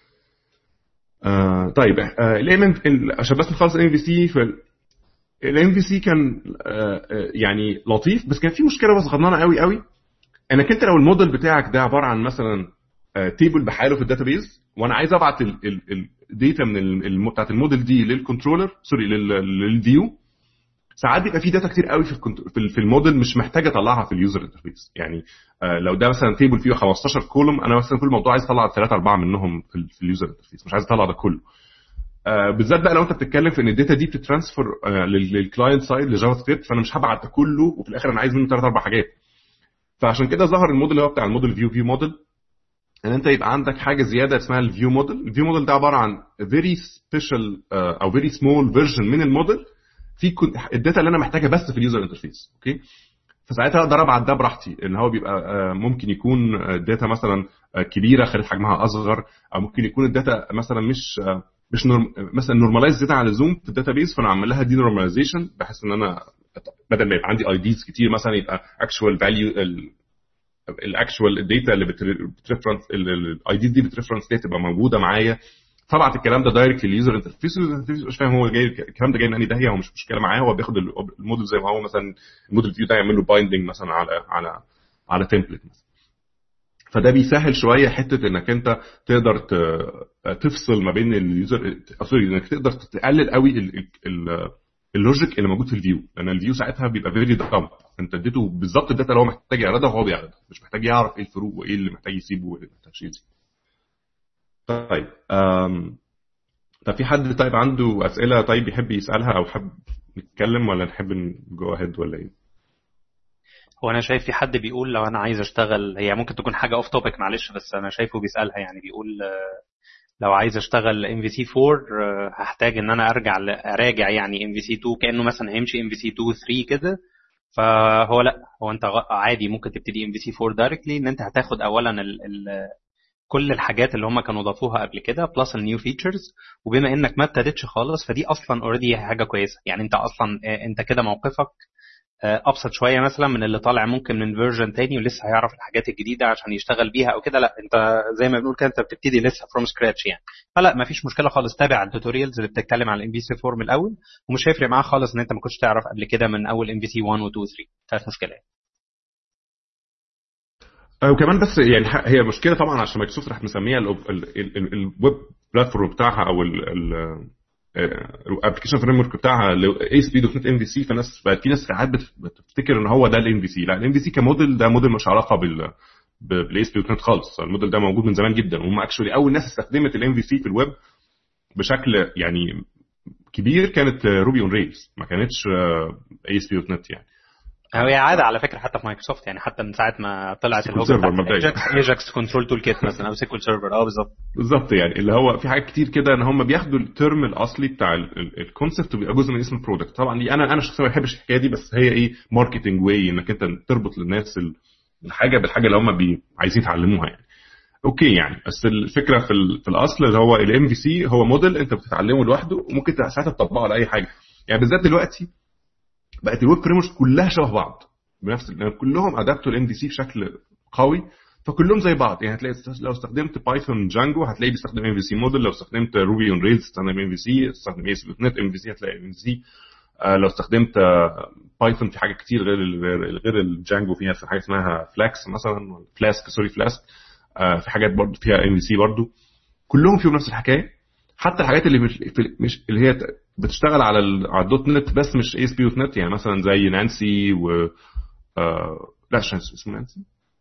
آه طيب آه عشان بس نخلص الام في سي، الام في سي كان آه يعني لطيف، بس كان في مشكله بس غضنانه قوي قوي، انك انت لو الموديل بتاعك ده عباره عن مثلا آه تيبل بحاله في الداتابيز، وانا عايز ابعت الداتا من بتاعه الموديل دي للكنترولر سوري للفيو، ساعات بيبقى في داتا كتير قوي في في الموديل مش محتاج اطلعها في اليوزر انترفيس. يعني آه لو ده مثلا تيبل فيه خمستاشر كولوم، انا مثلا كل موضوع عايز اطلع ثلاثة أربعة منهم في, في اليوزر انترفيس، مش عايز اطلع ده كله. آه بالذات بقى لو انت بتتكلم في ان الداتا دي بتترانسفير آه للكلاينت سايد لجافا سكريبت، فانا مش هبعت ده كله وفي الاخر انا عايز منه ثلاث اربع حاجات. فعشان كده ظهر الموديل اللي هو بتاع الموديل فيو فيو موديل، ان انت يبقى عندك حاجه زياده اسمها الفيو موديل. الفيو موديل ده عباره عن فيري سبيشال او فيري سمول فيرجن من الموديل في الداتا اللي انا محتاجها بس في اليوزر انترفيس. اوكي، فساعتها اقدر ابعت ده براحتي، ان هو بيبقى ممكن يكون الداتا مثلا كبيره خلت حجمها اصغر، او ممكن يكون الداتا مثلا مش مش نورم مثلا نورماليز زياده عن اللزوم في الداتابيز، فانا اعمل لها دي نورماليزيشن بحيث ان انا بدل ما يبقى عندي اي ديز كتير مثلا يبقى اكشوال فاليو الاكشوال الداتا اللي بتريفرنس الاي دي دي بتريفرنس دي تبقى موجوده معايا. فبعت الكلام ده دايركت لليوزر انترفيس، مش فاهم هو جاي الكلام ده جاي من انهي داهيه، هو مش مشكله معاه، هو بياخد الموديل زي ما هو مثلا الموديل فيو ده يعمل له بايندنج مثلا على على على تمبلت مثلا. فده بيسهل شويه حته انك انت تقدر تفصل ما بين اليوزر سوري انك تقدر تقلل قوي اللوجيك اللي موجود في الفيو، لان الفيو ساعتها بيبقى فيري دامب، انت اديته بالظبط الداتا اللي هو محتاج يعرضها وهو بيعرضها، مش محتاج يعرف ايه الفروق وايه اللي محتاج يسيبه وايه اللي محتاج يسيبه. طيب أم... طب في حد طيب عنده اسئله طيب يحب يسالها او حب نتكلم، ولا نحب نجو اهيد ولا ايه؟ هو انا شايف في حد بيقول لو انا عايز اشتغل، هي ممكن تكون حاجه اوف توبيك معلش، بس انا شايفه بيسالها، يعني بيقول لو عايز اشتغل ام في سي أربعة هحتاج ان انا ارجع اراجع يعني ام في سي اتنين كانه مثلا هيمشي ام في سي اتنين تلاتة كده. فهو لا، هو انت عادي ممكن تبتدي ام في سي أربعة دايركتلي، ان انت هتاخد اولا ال ال كل الحاجات اللي هم كانوا ضافوها قبل كده بلس النيو فيتشرز. وبما انك ما ابتديتش خالص فدي اصلا اوريدي حاجه كويسه، يعني انت اصلا انت كده موقفك ابسط شويه مثلا من اللي طالع ممكن من فيرجن تاني ولسه هيعرف الحاجات الجديده عشان يشتغل بيها او كده. لا انت زي ما بنقول كده انت بتبتدي لسه فروم سكراتش يعني. فلا ما فيش مشكله خالص، تابع التوتوريالز اللي بتتكلم على الام في سي أربعة من الاول، ومش هيفرق معاك خالص ان انت ما كنتش تعرف قبل كده من اول ام في سي واحد و اتنين و تلاتة. فمش مشكله يعني. وكمان بس يعني هي مشكله طبعا عشان مايكروسوفت راح مسميها الويب بلاتفورم بتاعها او الابلكيشن فريم ورك بتاعها اي اس بي دوت نت ام في سي. فالناس بقت في ناس ساعات بتفتكر ان هو ده الام في سي. لا، الام في سي كموديل ده موديل مش علاقه بال بالاي اس بي دوت نت خالص. الموديل ده موجود من زمان جدا، وهم اكشولي اول ناس استخدمت الام في سي في الويب بشكل يعني كبير كانت روبي اون ريلز، ما كانتش اي اس بي دوت نت يعني. هي عاده على فكره حتى في مايكروسوفت يعني، حتى من ساعه ما طلعت الهوب بتاعت ايجاكس ايجاكس كنترول تول كيت مثلا او سيكوال سيرفر. اه بالظبط بالظبط يعني اللي هو في حاجات كتير كده ان هم بياخدوا الترم الاصلي بتاع الكونسبت وبيبقى جزء من اسم البرودكت. طبعا دي انا انا شخصيا ما بحبش الحكايه دي، بس هي ايه ماركتنج واي انك انت تربط للناس الحاجه بالحاجه اللي هم بي عايزين يتعلموها يعني. اوكي يعني، بس الفكره في في الاصل اللي هو الام في سي هو موديل انت بتتعلمه لوحده وممكن ساعتها تطبقه على اي حاجه. يعني بالذات دلوقتي بقت الويب فريموركس كلها شبه بعض بنفس، كلهم ادابتوا الام في سي بشكل قوي، فكلهم زي بعض. يعني هتلاقي لو استخدمت بايثون جانجو هتلاقي بيستخدم ام في سي موديل، لو استخدمت روبي اون ريلز تستخدم ام في سي، استخدم اي اس بي دوت نت ام في سي هتلاقي ام في سي. لو استخدمت بايثون في حاجه كتير غير غير الجانجو، فيها في حاجه اسمها فلاكس مثلا، فلاسك سوري فلاسك، في حاجات برضو فيها ام في سي برضو، كلهم فيهم نفس الحكايه. حتى الحاجات اللي مش, مش اللي هي بتشتغل على على الدوت نت بس مش اي اس بي دوت نت، يعني مثلا زي نانسي و آه... لا مش اسمه نانسي،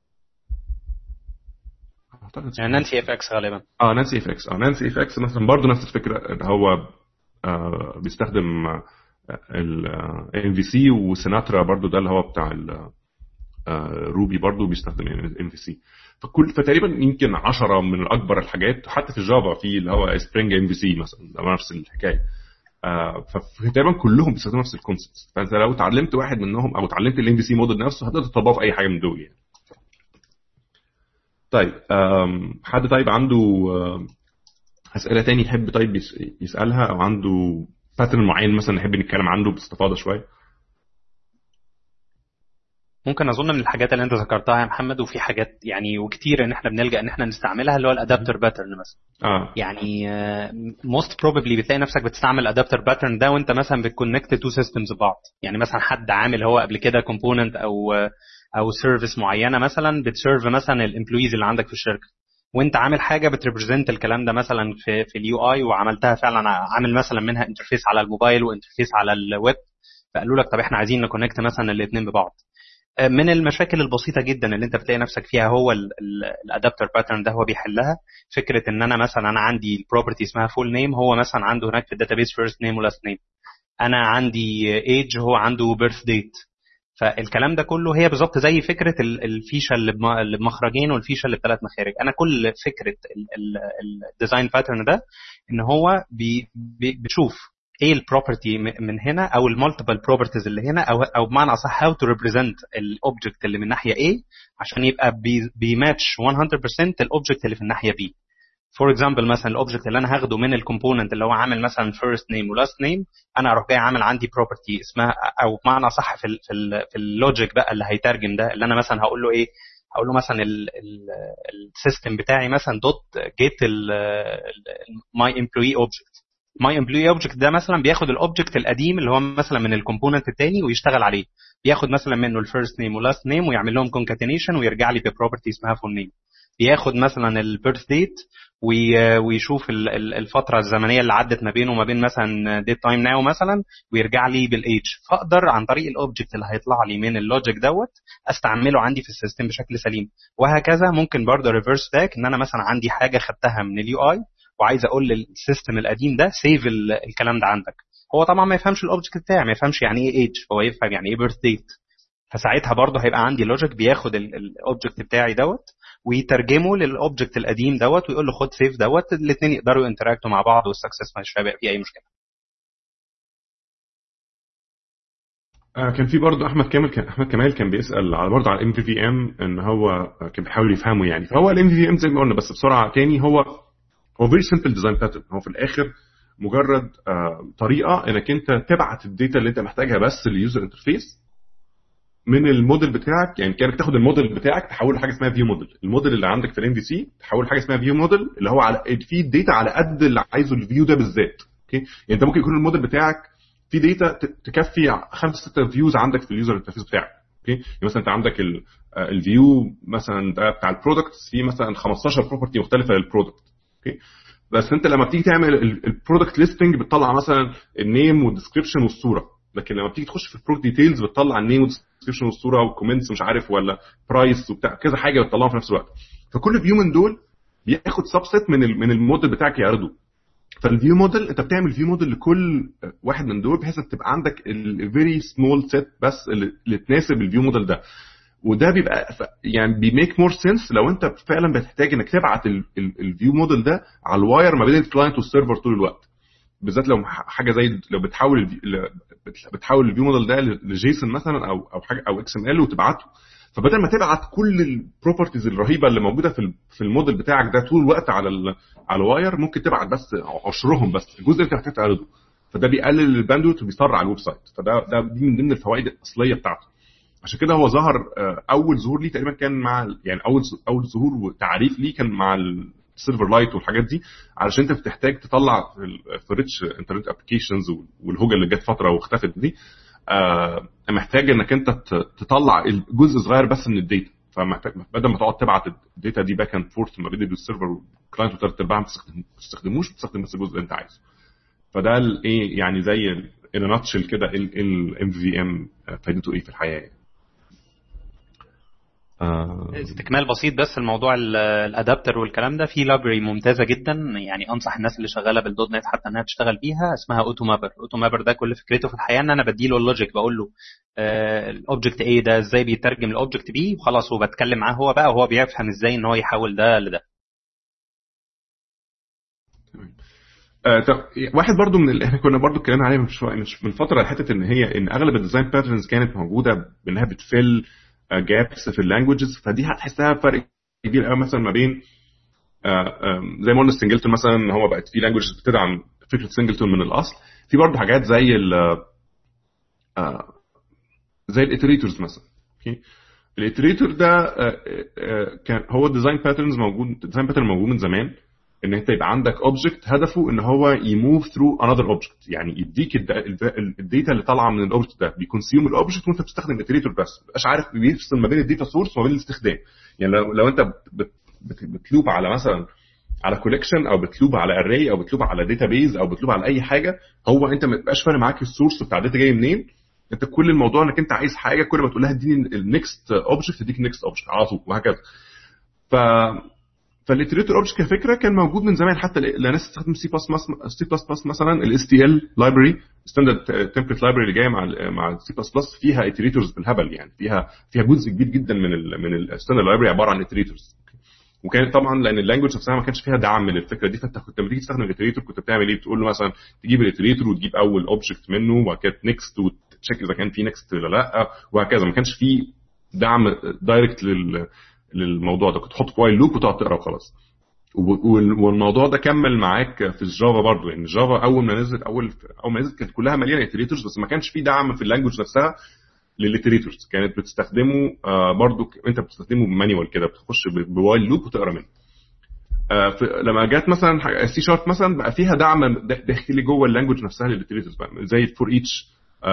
يعني نانسي اف اكس غالبا. اه نانسي اف اكس اه نانسي اف اكس مثلا برضو نفس الفكره، ان هو آه بيستخدم الام في سي، وسيناترا برضو ده اللي هو بتاع روبي برضو بيستخدم ام في سي. فكل فتقريبا يمكن عشرة من الاكبر الحاجات، حتى في الجافا في اللي هو سبرينج ام في سي مثلا ده نفس الحكايه. آه فتقريبا كلهم بيستخدموا نفس الكونسبت. فانت لو اتعلمت واحد منهم او اتعلمت الام في سي موديل نفسه هتقدر تطبقه في اي حاجه من دول يعني. طيب حد طيب عنده اسئله تاني يحب طيب يسالها، او عنده باترن معين مثلا نحب نتكلم عنه باستفاضه شويه؟ ممكن اظن من الحاجات اللي انت ذكرتها يا محمد، وفي حاجات يعني وكتير ان احنا بنلجا ان احنا نستعملها، اللي هو الادابتر باترن مثلا. اه يعني موست بروبابلي بتلاقي نفسك بتستعمل الادابتر باترن ده وانت مثلا بتكونكت تو سيستمز ببعض. يعني مثلا حد عامل هو قبل كده كومبوننت او او سيرفيس معينه مثلا بتسيرف مثلا الامبلويز اللي عندك في الشركه، وانت عامل حاجه بتريبريزنت الكلام ده مثلا في في اليو اي، وعملتها فعلا عامل مثلا منها انترفيس على الموبايل وانترفيس على الويب. فقالوا لك طب احنا عايزين نكونكت مثلا الاثنين ببعض. من المشاكل البسيطه جدا اللي انت بتلاقي نفسك فيها هو الادابتر باترن ده هو بيحلها. فكره ان انا مثلا انا عندي البروبرتي اسمها فول نيم، هو مثلا عنده هناك في الداتابيس فيرست نيم ولاست نيم. انا عندي ايج، هو عنده بيرث ديت. فالكلام ده كله هي بالظبط زي فكره الفيشه اللي بمخرجين والفيشه اللي بثلاث مخارج. انا كل فكره الديزاين باترن ده ان هو بي بتشوف ايه البروبرتي من هنا او المالتيبل بروبرتيز اللي هنا، او او بمعنى اصح هاو تو ريبريزنت الاوبجكت اللي من ناحيه A عشان يبقى بيماتش مية بالمية الاوبجكت اللي في الناحيه B. فور اكزامبل مثلا الاوبجكت اللي انا هاخده من الكومبوننت اللي هو عامل مثلا فيرست نيم ولاست نيم، انا اروح جاي عامل عندي بروبرتي اسمها، او بمعنى صح في ال في, ال في اللوجيك بقى اللي هيترجم ده، اللي انا مثلا هقول له ايه، هقول له مثلا السيستم بتاعي مثلا دوت جيت ماي امبلوي اوبجكت. ماي امبلوي اوبجكت ده مثلا بياخد الاوبجكت القديم اللي هو مثلا من الكومبوننت الثاني ويشتغل عليه، بياخد مثلا منه الفيرست نيم ولاست نيم ويعمل لهم كونكاتينيشن ويرجع لي ببروبرتي اسمها فول نيم. بياخد مثلا البيرث ديت ويشوف الفتره الزمنيه اللي عدت ما بينه وما بين مثلا ديت تايم ناو مثلا ويرجع لي بالايج. فاقدر عن طريق الاوبجكت اللي هيطلع لي من اللوجيك دوت استعمله عندي في السيستم بشكل سليم. وهكذا ممكن برضه ريفرس باك، ان انا مثلا عندي حاجه خدتها من اليو اي وعايز اقول للسيستم القديم ده سيف الكلام ده عندك. هو طبعا ما يفهمش الاوبجكت بتاعي، ما يفهمش يعني ايه ايج، هو يفهم يعني ايه بيرث ديت. فساعتها برضه هيبقى عندي لوجيك بياخد الاوبجكت بتاعي دوت ويترجمه للاوبجكت القديم دوت ويقول له خد سيف دوت، الاثنين يقدروا ينتراكتوا مع بعض والسكسس مش هيبقى فيه اي مشكله. آه كان في برضه احمد كامل كان احمد كمال كان بيسال على برضه على الام في في ام، ان هو كان بيحاول يفهمه يعني. فهو الام في في ام زي ما قلنا بس بسرعه تاني، هو هو فيري سمبل ديزاين باترن. هو في الاخر مجرد آه طريقه انك انت تبعت الداتا اللي انت محتاجها بس لليوزر انترفيس من الموديل بتاعك. يعني كانك تاخد الموديل بتاعك تحوله لحاجه اسمها فيو موديل، الموديل اللي عندك في الام في سي تحوله لحاجه اسمها فيو موديل اللي هو على فيه الداتا على قد اللي عايزه الفيو ده بالذات. اوكي، يعني انت ممكن يكون الموديل بتاعك في داتا تكفي خمسة ستة فيوز عندك في اليوزر انترفيس بتاعك. اوكي، يعني مثلا انت عندك الفيو مثلا بتاع البرودكتس فيه مثلا خمستاشر بروبرتي مختلفه للبرودكت. اوكي، بس انت لما بتيجي تعمل البرودكت ليستنج بتطلع مثلا النيم والديسكريبشن والصوره، لكن لما بتيجي تخش في البرودكت ديتيلز بتطلع النيم والديسكريبشن والصوره والكومنتس مش عارف ولا برايس وبتاع كذا حاجه بتطلعهم في نفس الوقت. فكل فيو من دول بياخد سبست من من الموديل بتاعك يعرضه. فالفيو موديل انت بتعمل فيو موديل لكل واحد من دول بحيث تبقى عندك الفيري سمول سيت بس اللي تناسب الفيو موديل ده. وده بيبقى يعني بيميك مور سنس لو انت فعلا بتحتاج انك تبعت الفيو موديل ده على الواير ما بين الكلاينت والسيرفر طول الوقت، بالذات لو حاجه زي لو بتحول بتحول الفيو موديل ده لجيسون مثلا او او حاجه او اكس ام ال وتبعته. فبدل ما تبعت كل البروبرتيز الرهيبه اللي موجوده في في الموديل بتاعك ده طول الوقت على على الواير، ممكن تبعت بس عشرهم بس الجزء اللي انت محتاج تعرضه. فده بيقلل الباندويث وبيسرع الويب سايت. فده ده دي من ضمن الفوائد الاصليه بتاعته. عشان كده هو ظهر اول ظهور ليه تقريبا كان مع يعني اول اول ظهور وتعريف ليه كان مع السيلفر لايت والحاجات دي، علشان انت بتحتاج تطلع في ريتش انترنت ابلكيشنز والهوجه اللي جت فتره واختفت دي، آه محتاج انك انت تطلع جزء صغير بس من الداتا. فمحتاج بدل ما تقعد تبعت الداتا دي باك اند فورث ما بين السيرفر والكلاينت وثلاث ارباع ما تستخدموش، بتستخدم بس الجزء اللي انت عايزه. فده الايه يعني زي ان ناتشل كده الام في ام فايدته ايه في الحياه. آه استكمال بسيط بس الموضوع الادابتر والكلام ده، في لايبرري ممتازه جدا يعني انصح الناس اللي شغاله بالدوت نت حتى انها تشتغل بيها، اسمها اوتو مابر. اوتو مابر ده كل فكرته في الحقيقه ان انا بديله اللوجيك، بقول له آه الاوبجكت ايه ده ازاي بيترجم الاوبجكت بي وخلاص، وبتكلم معاه هو بقى وهو بيفهم ازاي ان هو يحول ده لده. آه طب واحد برضو من اللي احنا كنا برضو اتكلمنا عليه من شويه من فتره، الحته ان هي ان اغلب الديزاين باترنز كانت موجوده بانها بتفل جابس في اللانجويجز. فدي هتحسها فرق كبير قوي مثلا ما بين زي ما قلنا سنجلتون مثلا ان هو بقت في لانجويجز بتدعم فكره سنجلتون من الاصل. في برضه حاجات زي ال زي الاتريتورز مثلا. اوكي، الاتريتور ده كان هو ديزاين باترنز موجود ديزاين باترن موجود من زمان، ان انت يبقى عندك اوبجكت هدفه ان هو يموف ثرو انذر اوبجكت، يعني يديك الداتا اللي طالعه من الاوبجكت ده بيكونسيوم الاوبجكت وانت بتستخدم اتريتور بس ما تبقاش عارف بيفصل ما بين الداتا سورس وما بين الاستخدام. يعني لو, لو انت بتلوب على مثلا على كولكشن او بتلوب على اري او بتلوب على داتابيز او بتلوب على اي حاجه، هو انت ما تبقاش فارق معاك السورس بتاع الداتا جاي منين. انت كل الموضوع انك انت عايز حاجه كل ما تقول لها اديني النكست اوبجكت تديك النكست اوبجكت على طول وهكذا. ف فالاتريتور اوبجكت كفكره كان موجود من زمان، حتى لناس تستخدم سي بلس بلس سي بلس بلس مثلا الاس تي ال لايبرري ستاندرد تمبلت لايبرري اللي جايه مع مع سي بلس بلس فيها اتريتورز بالهبل، يعني فيها فيها جزء كبير جدا من ال من الستاندرد لايبرري عباره عن اتريتورز. وكان طبعا لان اللانجوج نفسها ما كانش فيها دعم للفكره دي، فانت كنت لما تيجي تستخدم الاتريتور كنت بتعمل ايه؟ بتقول له مثلا تجيب الاتريتور وتجيب اول اوبجكت منه وبعد كده نيكست وتشيك اذا كان في نيكست ولا لا وهكذا. ما كانش في دعم دايركت لل للموضوع ده، كنت تحط فايل لوب وتقعد تقرا وخلاص. والموضوع ده كمل معاك في الجافا برضو، يعني الجافا اول ما نزلت اول اول ما نزلت كانت كلها مليانه اتريتورز، بس ما كانش في دعم في اللانجوج نفسها للاتريتورز. كانت بتستخدمه برضو انت بتستخدمه بمانيوال كده، بتخش بوايل لوب وتقرا منه. لما جت مثلا السي شارب مثلا بقى فيها دعم داخلي جوه اللانجوج نفسها للاتريتورز، زي الفور ايتش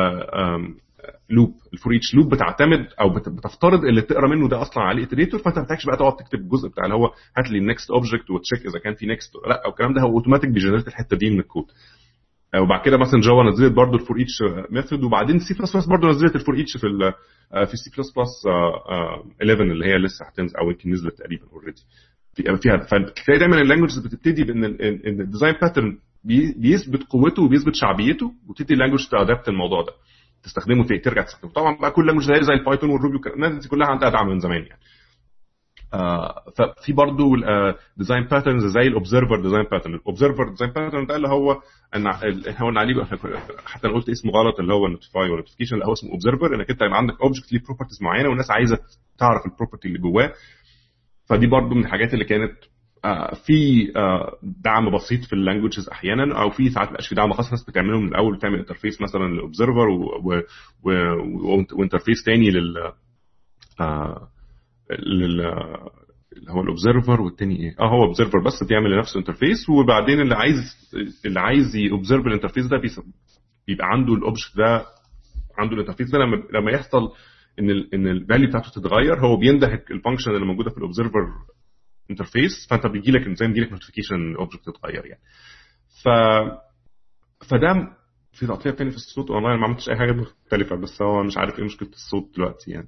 لوب. الفور ايتش لوب بتعتمد او بتفترض اللي تقرا منه ده اصلا عليه اتريتور، فانت ما محتاجش بقى تقعد تكتب الجزء بتاع اللي هو هات لي النكست اوبجكت وتشيك اذا كان في نكست لا، او الكلام ده هو اوتوماتيك بيجنريت الحته دي من الكود. وبعد كده مثلا جافا نزلت برضو الفور ايتش ميثود، وبعدين سي بلس بلس برضو نزلت الفور ايتش في ال في سي بلس بلس احداشر اللي هي لسه هتنزل او يمكن نزلت تقريبا اوريدي فيها. فتلاقي دايما اللانجوجز بتبتدي بان الديزاين باترن بيثبت قوته وبيثبت شعبيته، وتبتدي اللانجوج تادابت الموضوع ده تستخدمه في ترجع تستخدمه. طبعا بقى كل لانجوج زي زي البايثون والروبي والكلام دي كلها عندها دعم من زمان يعني. آه ففي برضو ديزاين باترنز زي الاوبزرفر ديزاين باترن. الاوبزرفر ديزاين باترن ده اللي هو ان هو ان عليه حتى انا قلت اسمه غلط اللي هو نوتيفاي ولا نوتيفيكيشن، اللي هو اسمه اوبزرفر، انك انت يبقى عندك اوبجكت ليه بروبرتيز معينه والناس عايزه تعرف البروبرتي اللي جواه. فدي برضو من الحاجات اللي كانت آه في آه دعم بسيط في اللانجويجز احيانا، او في ساعات مبقاش في دعم خاص، ناس بتعمله من الاول، بتعمل انترفيس مثلا للاوبزرفر وانترفيس تاني لل آه لل اللي هو الاوبزرفر، والتاني ايه اه هو اوبزرفر بس بيعمل لنفسه انترفيس، وبعدين اللي عايز اللي عايز يوبزرف الانترفيس ده بيبقى عنده الاوبجكت ده، عنده الانترفيس ده. لما لما يحصل ان ال ان الفاليو بتاعته تتغير، هو بينده الفانكشن اللي موجوده في الاوبزرفر انترفيس، فانت بيجي لك زي ما بيجي لك نوتيفيكيشن الاوبجكت اتغير يعني. ف فده في تقطيع تاني في الصوت والله ما عملتش اي حاجه مختلفه، بس هو مش عارف ايه مشكله الصوت دلوقتي يعني.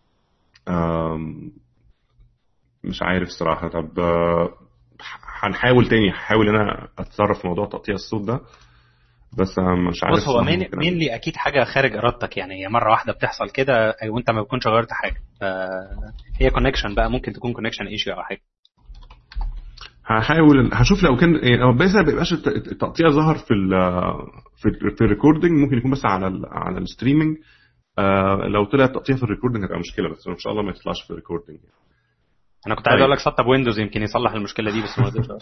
أم مش عارف صراحة. طب هنحاول تاني، هحاول انا اتصرف في موضوع تقطيع الصوت ده، بس مش عارف. بص هو مين مين لي اكيد حاجه خارج ارادتك يعني، هي مره واحده بتحصل كده وانت ما بتكونش غيرت حاجه، فهي كونكشن بقى، ممكن تكون كونكشن ايشيو او حاجه. هحاول هشوف لو كان يعني بس ما بيبقاش التقطيع ظهر في ال في في الريكوردنج، ممكن يكون بس على ال على الستريمنج. آه لو طلع التقطيع في الريكوردنج هتبقى مشكله، بس ان شاء الله ما يطلعش في الريكوردنج يعني. انا كنت عايز اقول لك سطب ويندوز يمكن يصلح المشكله دي، بس ما قدرتش.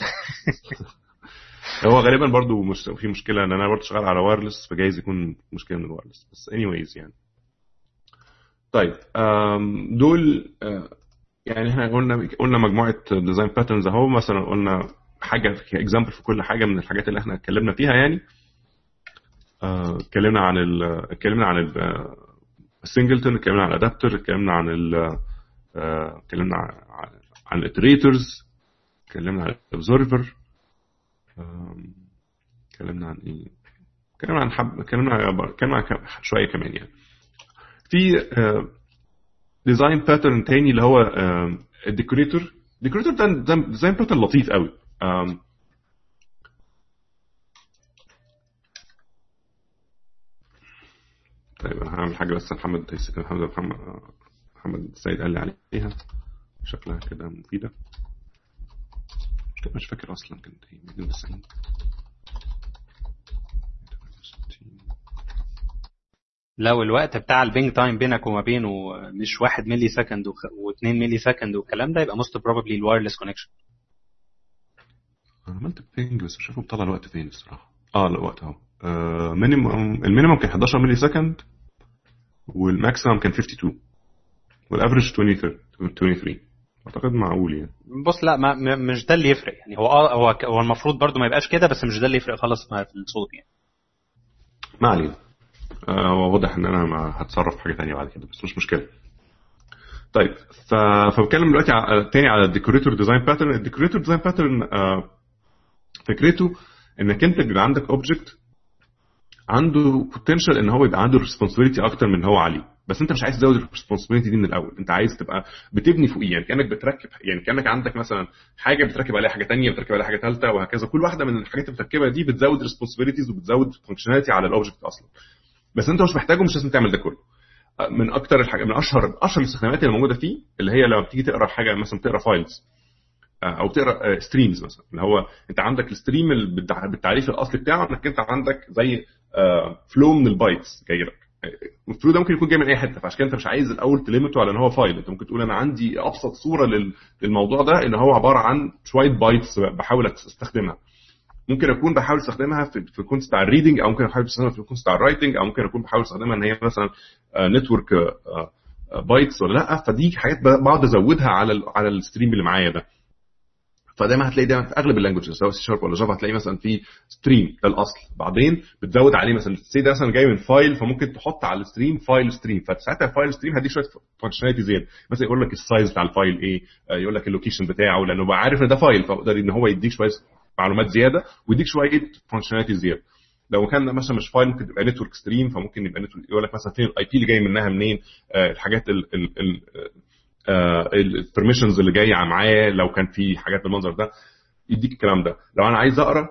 هو غالبا برضو مش في مشكله ان انا برضو شغال على وايرلس، فجايز يكون مشكله من الوايرلس، بس anyways يعني. طيب دول يعني احنا قلنا قلنا مجموعه ديزاين باترنز اهو، مثلا قلنا حاجه اكزامبل في كل حاجه من الحاجات اللي احنا اتكلمنا فيها يعني. اتكلمنا عن ال اتكلمنا عن السنجلتون، اتكلمنا عن الادابتر، اتكلمنا عن ال اتكلمنا عن عن الاتريتورز، اتكلمنا عن الاوبزرفر، اتكلمنا عن ايه اتكلمنا عن حب اتكلمنا اتكلمنا عن شويه كمان يعني. في ديزاين باترن تاني اللي هو الديكوريتور. الديكوريتور ده ديزاين باترن لطيف قوي. طيب انا هعمل حاجه بس محمد محمد محمد محمد السيد قال لي عليها، شكلها كده مفيده، مش فاكر اصلا كانت ايه. مئتين وتسعين لو الوقت بتاع البينج تايم بينك وما بينه مش واحد ملي سكند واثنين ملي سكند والكلام ده، يبقى most probably الوايرلس كونكشن. انا عملت بينج بس مش عارف بطلع الوقت فين الصراحه. اه الوقت اهو مينيمم المينيمم كان حداشر ملي سكند، والماكسيمم كان خمسة وخمسين، والافريج ثلاثين وثلاثين. اعتقد معقول يعني. بص لا ما مش ده اللي يفرق يعني، هو اه هو هو المفروض برضو ما يبقاش كده، بس مش ده اللي يفرق خالص في الصوت يعني. ما علينا. آه واضح ان انا ما هتصرف في حاجه ثانيه بعد كده، بس مش مشكله. طيب ف... فبتكلم دلوقتي ع... تاني على الديكوريتور ديزاين باترن. الديكوريتور ديزاين باترن آه فكرته انك انت بيبقى عندك اوبجكت عنده بوتنشال ان هو يبقى عنده ريسبونسبيلتي اكتر من هو عليه، بس انت مش عايز تزود الريسبونسبيلتي دي من الاول، انت عايز تبقى بتبني فوقيه يعني، كانك بتركب يعني، كانك عندك مثلا حاجه بتركب عليها حاجه ثانيه، بتركب عليها حاجه ثالثه وهكذا. كل واحده من الحاجات اللي بتركبها دي بتزود ريسبونسبيلتيز وبتزود فانكشناليتي على الاوبجكت اصلا، بس انت مش محتاجه، مش لازم تعمل ده كله. من اكتر الحاجات من اشهر اشهر الاستخدامات اللي موجوده فيه اللي هي لما بتيجي تقرا حاجه مثلا، تقرا فايلز او تقرا ستريمز مثلا، اللي هو انت عندك الستريم بالتعريف الاصلي بتاعه انك انت عندك زي فلو من البايتس جاي لك. الفلو ده ممكن يكون جاي من اي حته، فعشان كده انت مش عايز الاول تليمته على ان هو فايل. انت ممكن تقول انا عندي ابسط صوره للموضوع ده ان هو عباره عن شويه بايتس بحاول استخدمها. ممكن اكون بحاول استخدمها في في الكونتكست بتاع الريدنج، او ممكن احاول استخدمها في الكونتكست بتاع الرايتنج، او ممكن اكون بحاول استخدمها ان هي مثلا نتورك بايتس ولا لا. فدي حاجات بقعد ازودها على على الستريم اللي معايا ده. فدايما هتلاقي دايما في اغلب اللانجويجز سواء سي شارب ولا جافا هتلاقي مثلا في ستريم ده الاصل، بعدين بتزود عليه مثلا السي ده مثلا جاي من فايل، فممكن تحط على الستريم فايل ستريم، فساعتها الفايل ستريم هديك شويه فانكشناليتي زياده، مثلا يقول لك السايز بتاع الفايل ايه، يقول لك اللوكيشن بتاعه، لانه بقى عارف ان ده فايل، فيقدر ان هو يديك شويه معلومات زياده ويديك شويه فانكشناليتي زياده. لو كان مثلا مش فايل ممكن تبقى نتورك ستريم، فممكن يبقى نتورك يقول لك مثلا فين الاي بي اللي جاي منها منين، آه الحاجات ال ال البرميشنز اللي جايه معاه، لو كان في حاجات بالمنظر ده يديك الكلام ده. لو انا عايز اقرا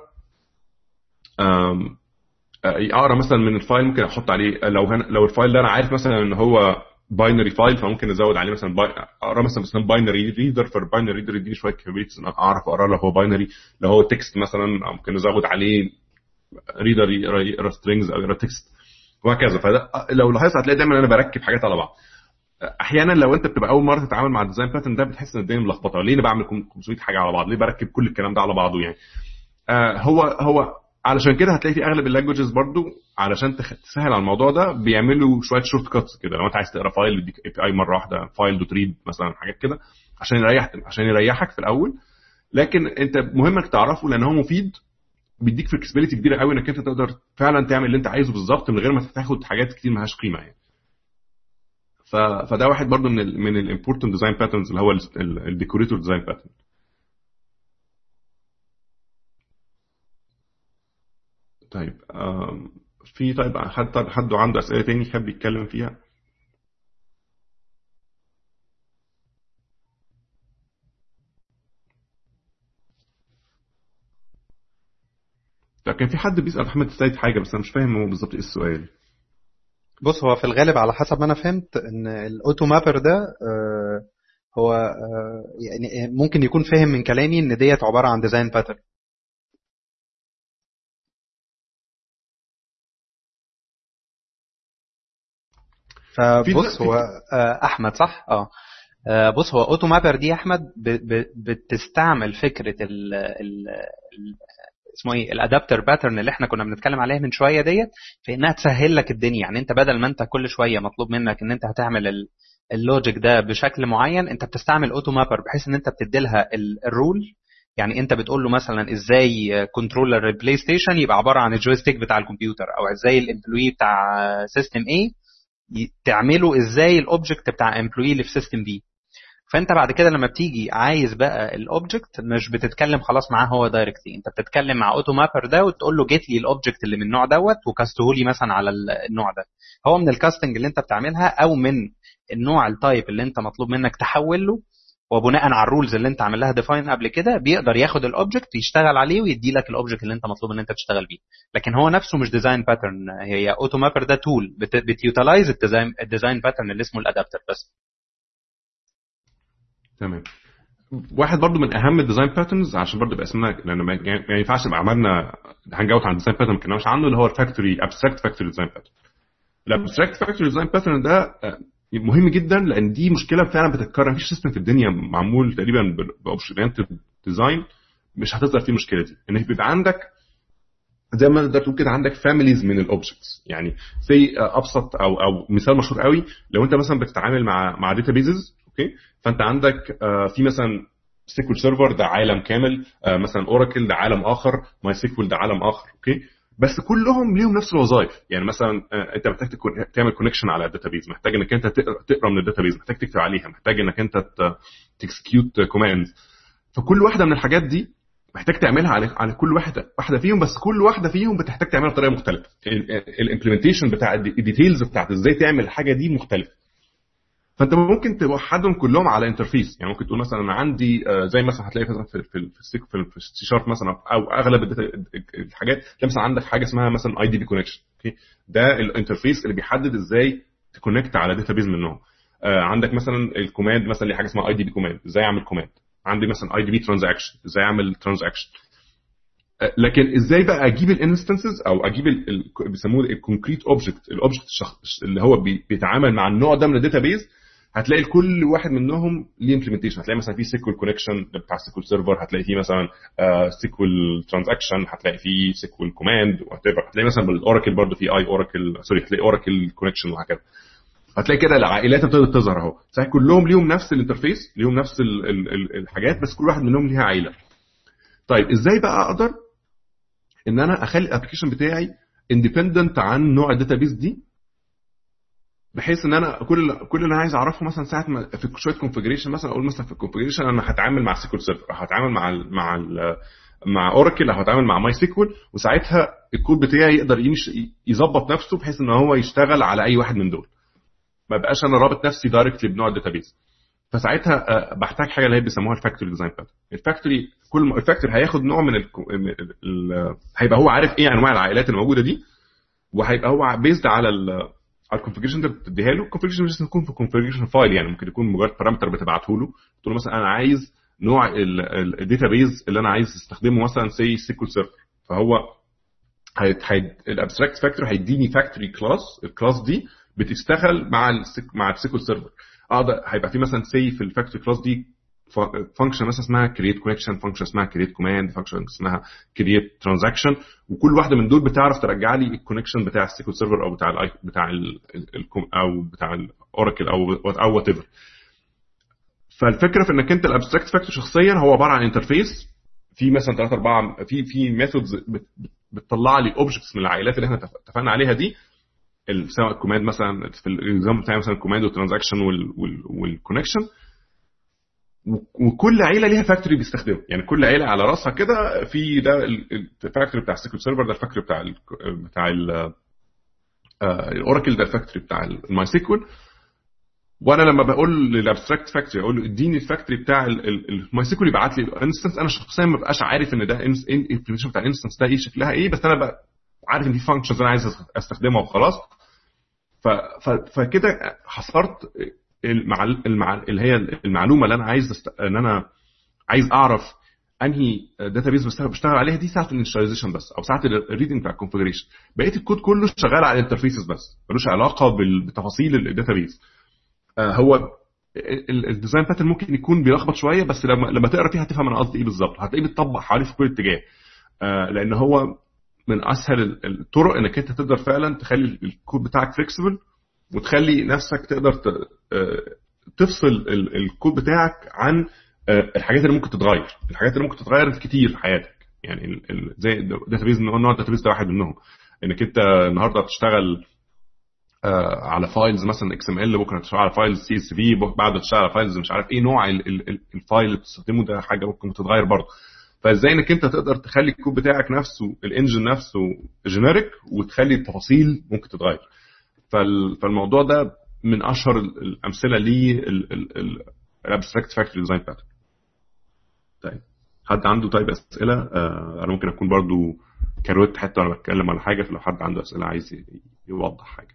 اقرا مثلا من الفايل، ممكن احط عليه لو هن... لو الفايل ده انا عارف مثلا ان هو باينري فايل فممكن ازود عليه مثلا باي... اقرا مثلا مثلا باينري ريدر، فالباينري ريدر يديني شويه كابابيلتيز اعرف اقرا لو هو باينري. لو هو تكست مثلا ممكن ازود عليه ريدر يقرا سترينجز او يقرا تكست وهكذا. فده لو لاحظت هتلاقي دايما انا بركب حاجات على بعض. احيانا لو انت بتبقى اول مره تتعامل مع الديزاين باترن ده بتحس ان الدنيا ملخبطه، ليه انا بعمل خمسمية حاجه على بعض، ليه بركب كل الكلام ده على بعضه يعني. آه هو هو علشان كده هتلاقي في اغلب اللانجويجز برضو علشان تسهل على الموضوع ده بيعملوا شويه شورت كاتس كده. لو انت عايز تقرا فايل يديك اي بي اي مره واحده، فايل دوت ريد مثلا، حاجات كده عشان يريح عشان يريحك في الاول. لكن انت مهم انك تعرفه لان هو مفيد، بيديك فلكسبيليتي كبيره قوي انك انت تقدر فعلا تعمل اللي انت عايزه بالظبط من غير ما تاخد حاجات كتير مالهاش قيمه يعني. ف... فده واحد برضو من ال من الامبورتنت ديزاين باترنز اللي هو الديكوريتور ديزاين باترن. طيب في طيب حد حد عنده اسئله تاني يحب يتكلم فيها؟ كان في حد بيسال احمد السيد حاجه بس انا مش فاهم هو بالظبط ايه السؤال. بص هو في الغالب على حسب ما انا فهمت ان الاوتو مابر ده آه هو آه يعني ممكن يكون فاهم من كلامي ان ديت عباره عن ديزاين باترن. فبص هو آه احمد صح اه بص هو اوتو مابر دي احمد بتستعمل فكره ال ال اسمه ايه الادابتر باترن اللي احنا كنا بنتكلم عليها من شويه ديت، في انها تسهل لك الدنيا. يعني انت بدل ما انت كل شويه مطلوب منك ان انت هتعمل اللوجيك ده بشكل معين، انت بتستعمل اوتو مابر بحيث ان انت بتدي لها الرول. يعني انت بتقول له مثلا ازاي كنترولر البلاي ستيشن يبقى عباره عن الجويستيك بتاع الكمبيوتر، او ازاي الامبلوي بتاع سيستم ايه تعمله ازاي الاوبجكت بتاع امبلوي اللي في سيستم بي. فانت بعد كده لما بتيجي عايز بقى الاوبجكت مش بتتكلم خلاص معاه هو دايركتلي، انت بتتكلم مع اوتو مابر ده وتقول له جيت لي الاوبجكت اللي من النوع دوت وكاسته لي مثلا على النوع ده. هو من الكاستنج اللي انت بتعملها او من النوع التايب اللي انت مطلوب منك تحول له، وبناء على الرولز اللي انت عامل لها ديفاين قبل كده بيقدر ياخد الاوبجكت يشتغل عليه ويدي لك الاوبجكت اللي انت مطلوب ان انت تشتغل بيه. لكن هو نفسه مش ديزاين باترن، هي اوتو مابر ده تول بتيوتلايز الديزاين الديزاين باترن اللي اسمه الادابتر بس. تمام. واحد برضو من اهم الديزاين باترنز عشان برضو يبقى اسمنا لان ما ينفعش نبقى عملنا هانج اوت عن الديزاين باترن ما كناش عنه، اللي هو الفاكتوري ابستراكت فاكتوري ديزاين باترن. الابستراكت فاكتوري ديزاين باترن ده مهم جدا لان دي مشكله فعلا بتتكرر. مفيش سيستم في الدنيا معمول تقريبا باوبشنال ديزاين مش هتظهر فيه المشكله دي، ان بيبقى عندك زي ما تقدر تقول كده عندك فاميليز من الاوبجكتس. يعني زي ابسط او او مثال مشهور قوي، لو انت مثلا بتتعامل مع مع داتابيزز اوكي، فانت عندك في مثلا سيكوال سيرفر ده عالم كامل، مثلا اوراكل ده عالم اخر، ماي سيكوال ده عالم اخر اوكي، بس كلهم ليهم نفس الوظائف. يعني مثلا انت محتاج تعمل كونكشن على الداتابيز، محتاج انك انت تقرا من الداتابيز، محتاج تكتب عليها، محتاج انك انت تكسكيوت كوماندز. فكل واحده من الحاجات دي محتاج تعملها على على كل واحده واحده فيهم، بس كل واحده فيهم بتحتاج تعملها بطريقه مختلفه. الامبلمنتيشن بتاع الديتيلز بتاعت ازاي تعمل الحاجه دي مختلفه. فانت ممكن توحدهم كلهم على انترفيس. يعني ممكن تقول مثلا انا عندي زي مثلا هتلاقي مثلا في في في السي شارب مثلا او اغلب الحاجات مثلا عندك حاجه اسمها مثلا اي دي بي كونكشن اوكي، ده الانترفيس اللي بيحدد ازاي تكونكت على داتابيز منهم. عندك مثلا الكوماند مثلا اللي حاجه اسمها اي دي بي كوماند، ازاي اعمل كوماند. عندي مثلا اي دي بي ترانزاكشن، ازاي اعمل ترانزاكشن. لكن ازاي بقى اجيب الانستنسز او اجيب بيسموه الكونكريت اوبجكت، الاوبجكت اللي هو بيتعامل مع النوع ده من الداتابيز. هتلاقي كل واحد منهم ليه امبلمنتيشن. هتلاقي مثلا في سيكوال كونكشن بتاع سيكوال سيرفر، هتلاقي فيه مثلا سيكوال ترانزاكشن، هتلاقي فيه سيكوال كوماند وات ايفر. هتلاقي مثلا بالاوراكل برضه في اي اوراكل سوري هتلاقي اوراكل كونكشن وهكذا. هتلاقي كده العائلات ابتدت تظهر اهو، صحيح كلهم ليهم نفس الانترفيس، ليهم نفس ال ال ال الحاجات، بس كل واحد منهم ليها عائله. طيب ازاي بقى اقدر ان انا اخلي الابلكيشن بتاعي اندبندنت عن نوع الداتابيس دي، بحيث ان انا كل كل اللي انا عايز اعرفه مثلا ساعه ما في شويه كونفيجريشن مثلا اقول مثلا في الكونفيجريشن انا هتعامل مع سيكوال سيرفر، هتعامل مع ال مع ال مع اوراكل، او هتعامل مع ماي سيكوال، وساعتها الكود بتاعي يقدر يمشي يظبط نفسه بحيث ان هو يشتغل على اي واحد من دول، ما بقاش انا رابط نفسي دايركتلي بنوع الداتابيس. فساعتها بحتاج حاجه اللي هي بيسموها الفاكتوري ديزاين باترن. الفاكتوري كل الفاكتوري هياخد نوع من ال... ال... هيبقى هو عارف ايه انواع العائلات اللي موجوده دي، وهيبقى هو بيزد على ال... على الكونفيجريشن ده بتديها له. الكونفيجريشن مش يكون في كونفيجريشن فايل، يعني ممكن يكون مجرد بارامتر بتبعته له، تقول له مثلا انا عايز نوع الداتابيز اللي انا عايز استخدمه مثلا سي سيكول سيرفر، فهو الابستراكت فاكتوري هيديني فاكتوري كلاس، الكلاس دي بتشتغل مع ال مع السيكول سيرفر. اقدر هيبقى في مثلا سي في الفاكتوري كلاس دي فانكشن مثلا اسمها كرييت كونكشن، فانكشن اسمها كرييت كوماند، فانكشن اسمها كرييت ترانزاكشن، وكل واحده من دول بتعرف ترجع لي الكونكشن بتاع السيكول سيرفر او بتاع ال بتاع ال او بتاع الاوراكل او او وات ايفر. فالفكره في انك انت الابستراكت فاكتور شخصيا هو عباره عن انترفيس في مثلا ثلاثة أربعة في في ميثودز بتطلع لي اوبجكتس من العائلات اللي احنا اتفقنا عليها دي، سواء الكوماند مثلا في الاكزامبل بتاعي مثلا الكوماند والترانزاكشن والكونكشن، وكل عيله ليها فاكتوري بيستخدمه، يعني كل عيله على راسها كده في ده الفاكتوري بتاع السيكول سيرفر، ده الفاكتوري بتاع ال بتاع الاوراكل، ده الفاكتوري بتاع الماي سيكول. وانا لما بقول للابستراكت فاكتوري اقول له اديني الفاكتوري بتاع الماي سيكول يبعت لي انستنس، انا شخصيا ما بقاش عارف ان ده الامبلمنتيشن بتاع الانستنس ده ايه شكلها ايه، بس انا بقى عارف ان في فانكشنز انا عايز استخدمها وخلاص. فكده حصرت مع اللي هي المعلومه اللي انا عايز است... ان انا عايز اعرف انهي داتابيز بشتغل عليها دي ساعه الانيشاليزيشن بس، او ساعه الريدنج بتاع الكونفيجريشن. بقيه الكود كله شغال على الانترفيسز بس، ملوش علاقه بتفاصيل الداتابيز. هو الديزاين باترن ممكن يكون بيلخبط شويه، بس لما لما تقرا فيها هتفهم انا قصدي ايه بالظبط، هتلاقيه بيتطبق حوالي في كل اتجاه، لان هو من اسهل الطرق انك انت تقدر فعلا تخلي الكود بتاعك فليكسبل، وتخلي نفسك تقدر تفصل الكود بتاعك عن الحاجات اللي ممكن تتغير. الحاجات اللي ممكن تتغير كتير في حياتك، يعني زي الداتابيز، نوع الداتابيز ده واحد منهم، انك انت النهارده بتشتغل على فايلز مثلا اكس ام ال، بكره تشتغل على فايلز سي اس في، بعد تشتغل على فايلز مش عارف ايه نوع الفايل اللي بتستخدمه، ده حاجه ممكن تتغير برضه. فازاي انك انت تقدر تخلي الكود بتاعك نفسه الانجن نفسه جينيريك، وتخلي التفاصيل ممكن تتغير. فالموضوع ده من اشهر الامثله ليه الابستراكت فاكتوري ديزاين باترن. طيب حد عنده طيب اسئله؟ آه انا ممكن اكون برضو كروت حتى وانا بتكلم على حاجه، فلو حد عنده اسئله عايز يوضح حاجه.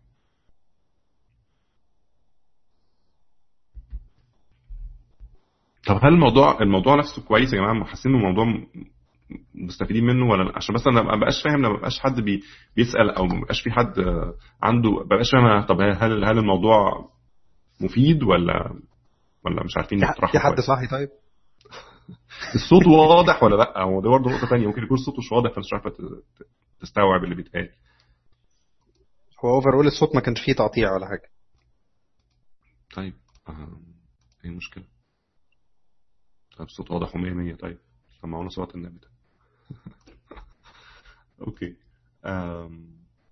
طب هل الموضوع الموضوع نفسه كويس يا جماعه؟ حاسين الموضوع مستفيدين منه ولا؟ عشان بس انا ما بقاش فاهم، ما بقاش حد بي بيسال او ما بقاش في حد عنده، ما بقاش فاهم. طب هل هل الموضوع مفيد ولا ولا مش عارفين نطرحه؟ في حد صاحي طيب؟ الصوت واضح ولا لا؟ هو ده برضه نقطه ثانيه، ممكن يكون الصوت مش واضح فمش عارفه تستوعب اللي بيتقال. هو اوفرول الصوت ما كانش فيه تقطيع ولا حاجه. طيب اه ايه المشكله؟ طب الصوت واضح ومية مية. طيب سمعونا صوت النبي ده. اوكي. أم...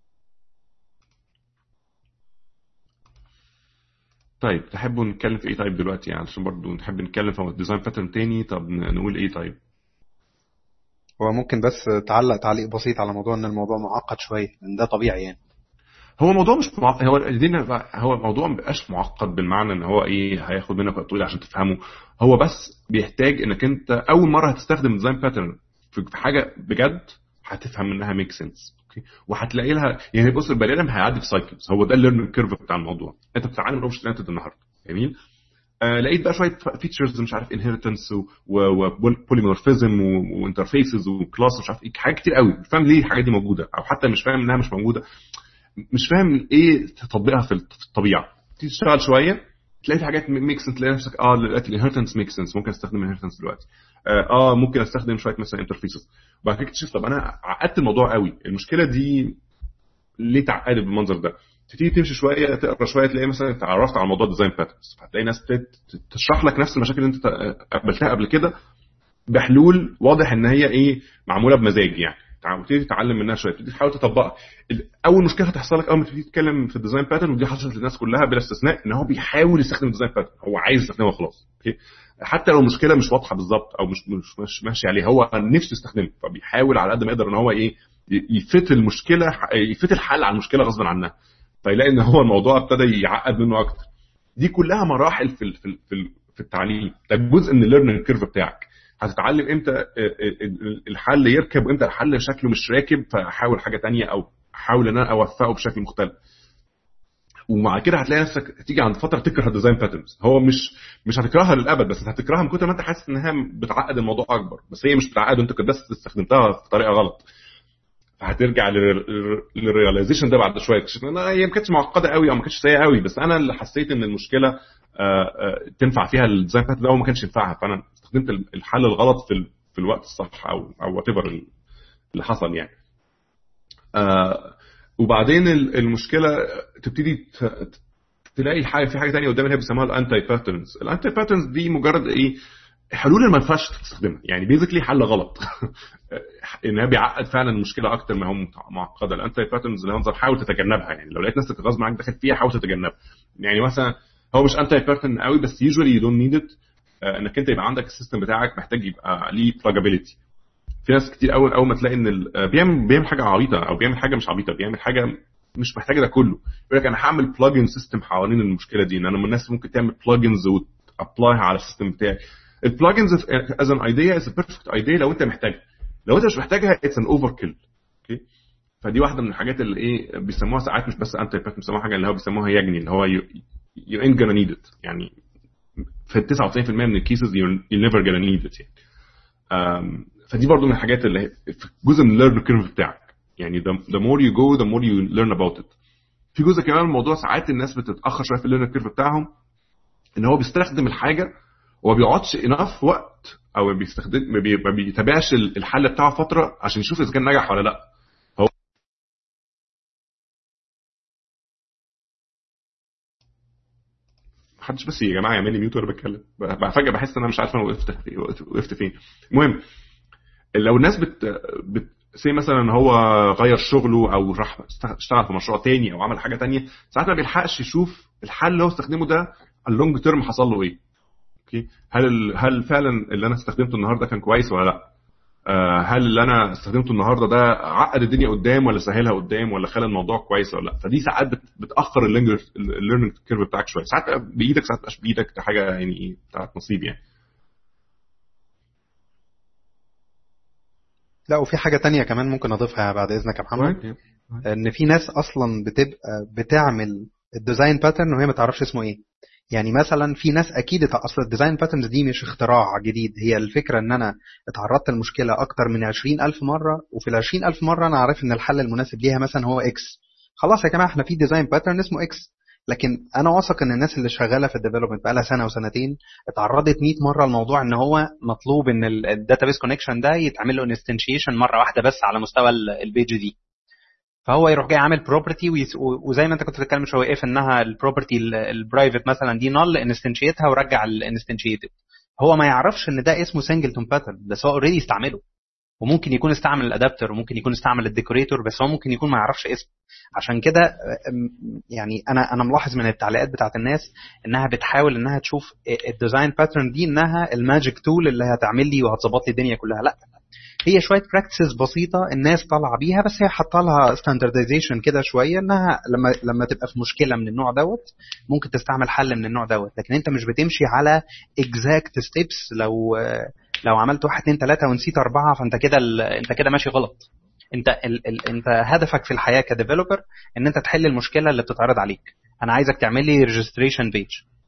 طيب تحبوا نتكلم في ايه طيب دلوقتي؟ يعني عشان برضو نحب نتكلم في الديزاين باترن تاني. طب نقول ايه طيب؟ هو ممكن بس تعلق تعليق بسيط على موضوع ان الموضوع معقد شويه، لان ده طبيعي يعني. هو الموضوع مش معقد، هو هو الموضوع ما بقاش معقد بالمعنى ان هو ايه هياخد منك وقت طويل عشان تفهمه. هو بس بيحتاج انك انت اول مره هتستخدم ديزاين باترن في حاجه بجد هتفهم منها ميك سنس، اوكي، وهتلاقي لها يعني. بص البني ادم هيعدي في سايكلز، هو ده الليرنينج كيرف بتاع الموضوع. انت بتتعلم الاوبجكت اورينتد النهارده، جميل، آه لقيت بقى شويه فيتشرز مش عارف انهيرتنس وبوليمورفيزم وانترفيسز وكلاس مش عارف ايه، حاجات كتير قوي مش فاهم ليه الحاجات دي موجوده، او حتى مش فاهم انها مش موجوده، مش فاهم ايه تطبيقها في الطبيعه. تيجي تشتغل شويه تلاقي في حاجات ميك سنس، تلاقي نفسك اه دلوقتي الانهيرتنس ميك سنس، ممكن استخدم الانهيرتنس دلوقتي، اه ممكن استخدم شويه مثلا انترفيسز. وبعد كده تكتشف طب انا عقدت الموضوع قوي، المشكله دي ليه تعقد بالمنظر ده؟ تبتدي تمشي شويه تقرا شويه تلاقي مثلا اتعرفت على موضوع ديزاين باترنز، هتلاقي ناس تشرح لك نفس المشاكل اللي انت قابلتها قبل كده بحلول واضح ان هي ايه معموله بمزاج يعني. تبتدي تتعلم منها شويه، تبتدي تحاول تطبقها. اول مشكله هتحصل لك اول ما تبتدي تتكلم في الديزاين باترن، ودي حصلت للناس كلها بلا استثناء، ان هو بيحاول يستخدم الديزاين باترن، هو عايز يستخدمه خلاص، اوكي، حتى لو المشكله مش واضحه بالظبط او مش مش, مش ماشي عليه، هو نفسه يستخدمه، فبيحاول على قد ما يقدر ان هو ايه يفت المشكله، يفت الحل على المشكله غصب عنها، فيلاقي ان هو الموضوع ابتدى يعقد منه اكتر. دي كلها مراحل في في في التعليم، ده جزء من الليرنينج كيرف بتاعك. هتتعلم امتى الحل يركب وامتى الحل شكله مش راكب، فاحاول حاجه تانية او احاول ان انا اوفقه بشكل مختلف. ومع كده هتلاقي نفسك تيجي عند فتره تكره الديزاين باترنز. هو مش مش هتكرهها للابد، بس هتكرهها من كتر ما انت حاسس انها بتعقد الموضوع اكبر، بس هي مش بتعقد، انت كنت بس استخدمتها في طريقه غلط. فهترجع للرياليزيشن ده بعد شويه، اكتشفت ان هي ما كانتش معقده قوي او ما كانتش سيئه قوي، بس انا اللي حسيت ان المشكله تنفع فيها الديزاين باترن ده وما كانش ينفعها، فانا استخدمت الحل الغلط في في الوقت الصح او او وات ايفر اللي حصل يعني. وبعدين المشكله تبتدي تلاقي حاجه في حاجه ثانيه قدام اللي بيسموها الانتي باترنز. الانتي باترنز دي مجرد ايه؟ حلول ما ينفعش تستخدمها، يعني بيزيكلي حل غلط انها بيعقد فعلا المشكله اكتر ما هو معقده. الانتي باترنز اللي هنظر حاول تتجنبها، يعني لو لقيت نفسك غصب عنك داخل فيها حاول تتجنبها. يعني مثلا هو مش انتي باترن قوي، بس يوجوالي يو دونت نيد ات، انك انت يبقى عندك السيستم بتاعك محتاج يبقى ليه بلاجابيلتي. في ناس كتير اول اول ما تلاقي ان بيعمل بيعمل حاجه عبيطه او بيعمل حاجه مش عبيطه، بيعمل حاجه مش محتاجه ده كله، يقول لك انا هعمل بلجن سيستم حوالين المشكله دي. ان انا من الناس ممكن تعمل بلجنز وتابلايها على السيستم بتاعي. البلجنز از ان ايديا از ا بيرفكت ايديا لو انت محتاجها، لو انت مش محتاجها اتس ان اوفر كيل. اوكي، فدي واحده من الحاجات اللي ايه بيسموها ساعات مش بس انتي باترن، بيسموها حاجه اللي هو بيسموها يجني، اللي هو يو انت جونا نيد ات، يعني في تسعة وتسعين بالمية من الكيسز يو نيفر جونا نيد ات يعني. فدي برضو من الحاجات اللي في جزء من الليرن كيرف بتاعك، يعني the more you go the more you learn about it. في جزء كمان الموضوع ساعات الناس بتتاخر شويه في الليرن كيرف بتاعهم، ان هو بيستخدم الحاجه وما بيقعدش انف وقت او بيستخدم ما بيتابعش الحل بتاعه فتره عشان يشوف اذا كان نجح ولا لا. هو محدش بس يا جماعه يعمل لي ميوت وانا بتكلم، فجاه بحس ان انا مش عارف انا وقفت وقفت فين. المهم لو الناس بت, بت... زي مثلا ان هو غير شغله او راح اشتغل في مشروع تاني او عمل حاجه تانية، ساعات ما بيلحقش يشوف الحل اللي هو استخدمه ده اللونج تيرم حصل له ايه. اوكي، هل ال... هل فعلا اللي انا استخدمته النهارده كان كويس ولا لا؟ آه هل اللي انا استخدمته النهارده ده عقد الدنيا قدام ولا سهلها قدام ولا خلى الموضوع كويس ولا لا؟ فدي ساعات بت... بتاخر الليرنينج كيرف بتاعك شويه، ساعات بايدك ساعات مش بايدك، ده حاجه يعني ايه بتاعت نصيب يعني. لا، وفي حاجة تانية كمان ممكن أضيفها بعد إذنك يا محمد، إن في ناس أصلا بتبقى بتعمل الديزاين باترن وهي ما تعرفش اسمه إيه. يعني مثلا في ناس أكيد أصلا الديزاين باترنز دي مش اختراع جديد، هي الفكرة إن أنا اتعرضت للمشكلة أكتر من عشرين ألف مرة، وفي العشرين ألف مرة أنا عارف إن الحل المناسب ليها مثلا هو إكس. خلاص يا جماعة إحنا في ديزاين باترن اسمه إكس، لكن انا واثق ان الناس اللي شغاله في الديفلوبمنت بقى لها سنه وسنتين اتعرضت مية مره الموضوع ان هو مطلوب ان الداتابيس كونكشن ده يتعمل له انستنشيشن مره واحده بس على مستوى البيج دي، فهو يروح جاي عامل بروبرتي وزي ما انت كنت بتتكلم شويه ايه، انها البروبرتي البرايفت مثلا دي نال انستنشيتها ورجع الانستنشيتد. هو ما يعرفش ان ده اسمه سنجلتون باترن، بس هو اوريدي استعمله، وممكن يكون استعمل الادابتر وممكن يكون استعمل الديكوريتور، بس هو ممكن يكون ما يعرفش اسمه. عشان كده يعني انا انا ملاحظ من التعليقات بتاعت الناس انها بتحاول انها تشوف الديزاين باترن دي انها الماجيك تول اللي هتعمل لي وهتظبط لي الدنيا كلها. لا، هي شويه براكتسز بسيطه الناس طالعه بيها، بس هي حاطه لها ستاندردايزيشن كده شويه، انها لما لما تبقى في مشكله من النوع دوت ممكن تستعمل حل من النوع دوت، لكن انت مش بتمشي على اكزاكت ستيبس. لو لو عملت واحد اتنين تلاته ونسيت اربعه فانت كده انت كده ماشي غلط. انت ال ال انت هدفك في الحياه كديفلوبر ان انت تحل المشكله اللي بتتعرض عليك. انا عايزك تعمل لي ريجستريشن بيج،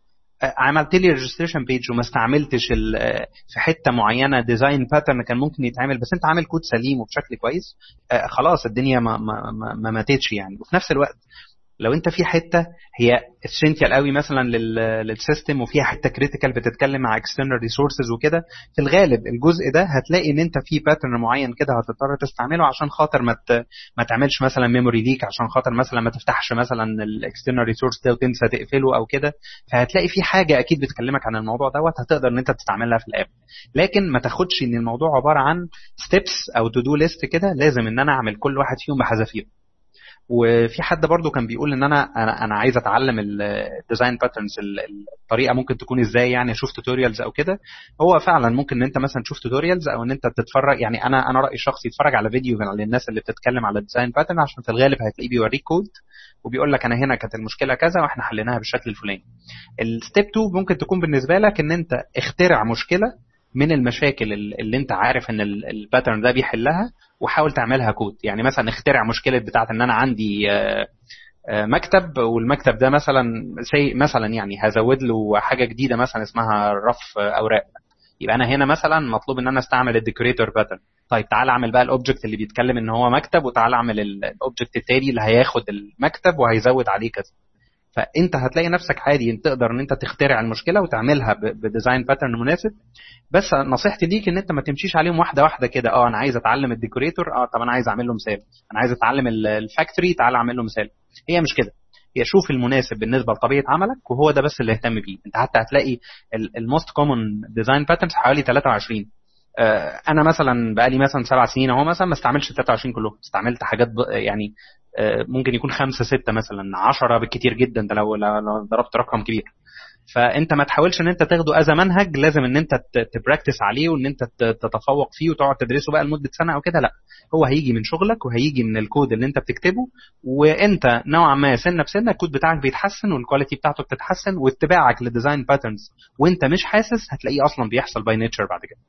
عملت لي ريجستريشن بيج وما استعملتش في حته معينه ديزاين باترن كان ممكن يتعمل، بس انت عامل كود سليم وبشكل كويس، خلاص الدنيا ما ما ما ماتتش يعني. وفي نفس الوقت لو انت في حته هي اسينشال قوي مثلا للسيستم وفيها حته كريتيكال بتتكلم مع اكسترنال ريسورسز وكده، في الغالب الجزء ده هتلاقي ان انت في باترن معين كده هتضطر تستعمله عشان خاطر ما ما تعملش مثلا ميموري ليك، عشان خاطر مثلا ما تفتحش مثلا الاكسترنال ريسورس ده وتنسى تقفله او كده. فهتلاقي في حاجه اكيد بتكلمك عن الموضوع دوت هتقدر ان انت تستعملها في الاب، لكن ما تاخدش ان الموضوع عباره عن ستيبس او تو دو ليست كده لازم ان انا اعمل كل واحد فيهم بحذافيره. وفي حد برضو كان بيقول ان انا انا, أنا عايز اتعلم الديزاين باترنز، الطريقه ممكن تكون ازاي، يعني اشوف توتوريالز او كده. هو فعلا ممكن ان انت مثلا تشوف توتوريالز او ان انت تتفرج، يعني انا انا رايي الشخصي اتفرج على فيديو للناس اللي بتتكلم على الديزاين باترن، عشان في الغالب هتلاقيه بيوريك كود وبيقول لك انا هنا كانت المشكله كذا واحنا حليناها بالشكل الفلاني. الستيب اتنين ممكن تكون بالنسبه لك ان انت اخترع مشكله من المشاكل اللي انت عارف ان الباترن ده بيحلها وحاول تعملها كود. يعني مثلا اخترع مشكله بتاعه ان انا عندي مكتب، والمكتب ده مثلا سي مثلا يعني هزود له حاجه جديده مثلا اسمها رف اوراق، يبقى انا هنا مثلا مطلوب ان انا استعمل الديكوريتور باترن. طيب تعال اعمل بقى الاوبجكت اللي بيتكلم ان هو مكتب، وتعال اعمل الاوبجكت التاني اللي هياخد المكتب وهيزود عليه كذا. فانت هتلاقي نفسك عادي انت تقدر ان انت تخترع المشكله وتعملها بديزاين باترن مناسب. بس نصيحتي ليك ان انت ما تمشيش عليهم واحده واحده كده. اه انا عايز اتعلم الديكوريتور، اه طب انا عايز اعمل له مثال. انا عايز اتعلم الفاكتوري، تعال اعمل له مثال. هي مش كده، هي شوف المناسب بالنسبه لطبيعه عملك وهو ده بس اللي اهتم بيه. انت حتى هتلاقي الموست كومن ديزاين باترنز حوالي ثلاثة وعشرين. آه انا مثلا بقالي مثلا سبع سنين اهو مثلا ما استعملش ثلاثة وعشرين كلهم، استعملت حاجات يعني آه ممكن يكون خمسة ستة مثلا عشرة بالكتير جدا، ده لو, لو ضربت رقم كبير. فانت ما تحاولش ان انت تاخده از منهج لازم ان انت تبراكتس عليه وان انت تتفوق فيه وتقعد تدرسه بقى لمده سنه او كده. لا، هو هيجي من شغلك وهيجي من الكود اللي انت بتكتبه، وانت نوعا ما سنه بسنه الكود بتاعك بيتحسن والكواليتي بتاعته بتتحسن، واتباعك للديزاين باترنز وانت مش حاسس هتلاقيه اصلا بيحصل باي نيتشر بعد كده.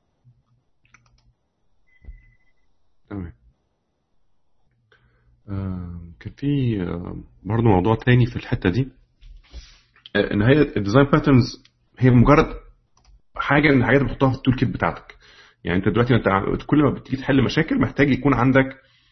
تمام. آه كان في آه برضه موضوع تاني في الحته دي، ان هي الديزاين باترنز هي مجرد حاجه من الحاجات اللي بتحطها في التول كيت بتاعتك. يعني انت دلوقتي انت كل ما بتيجي تحل مشاكل محتاج يكون عندك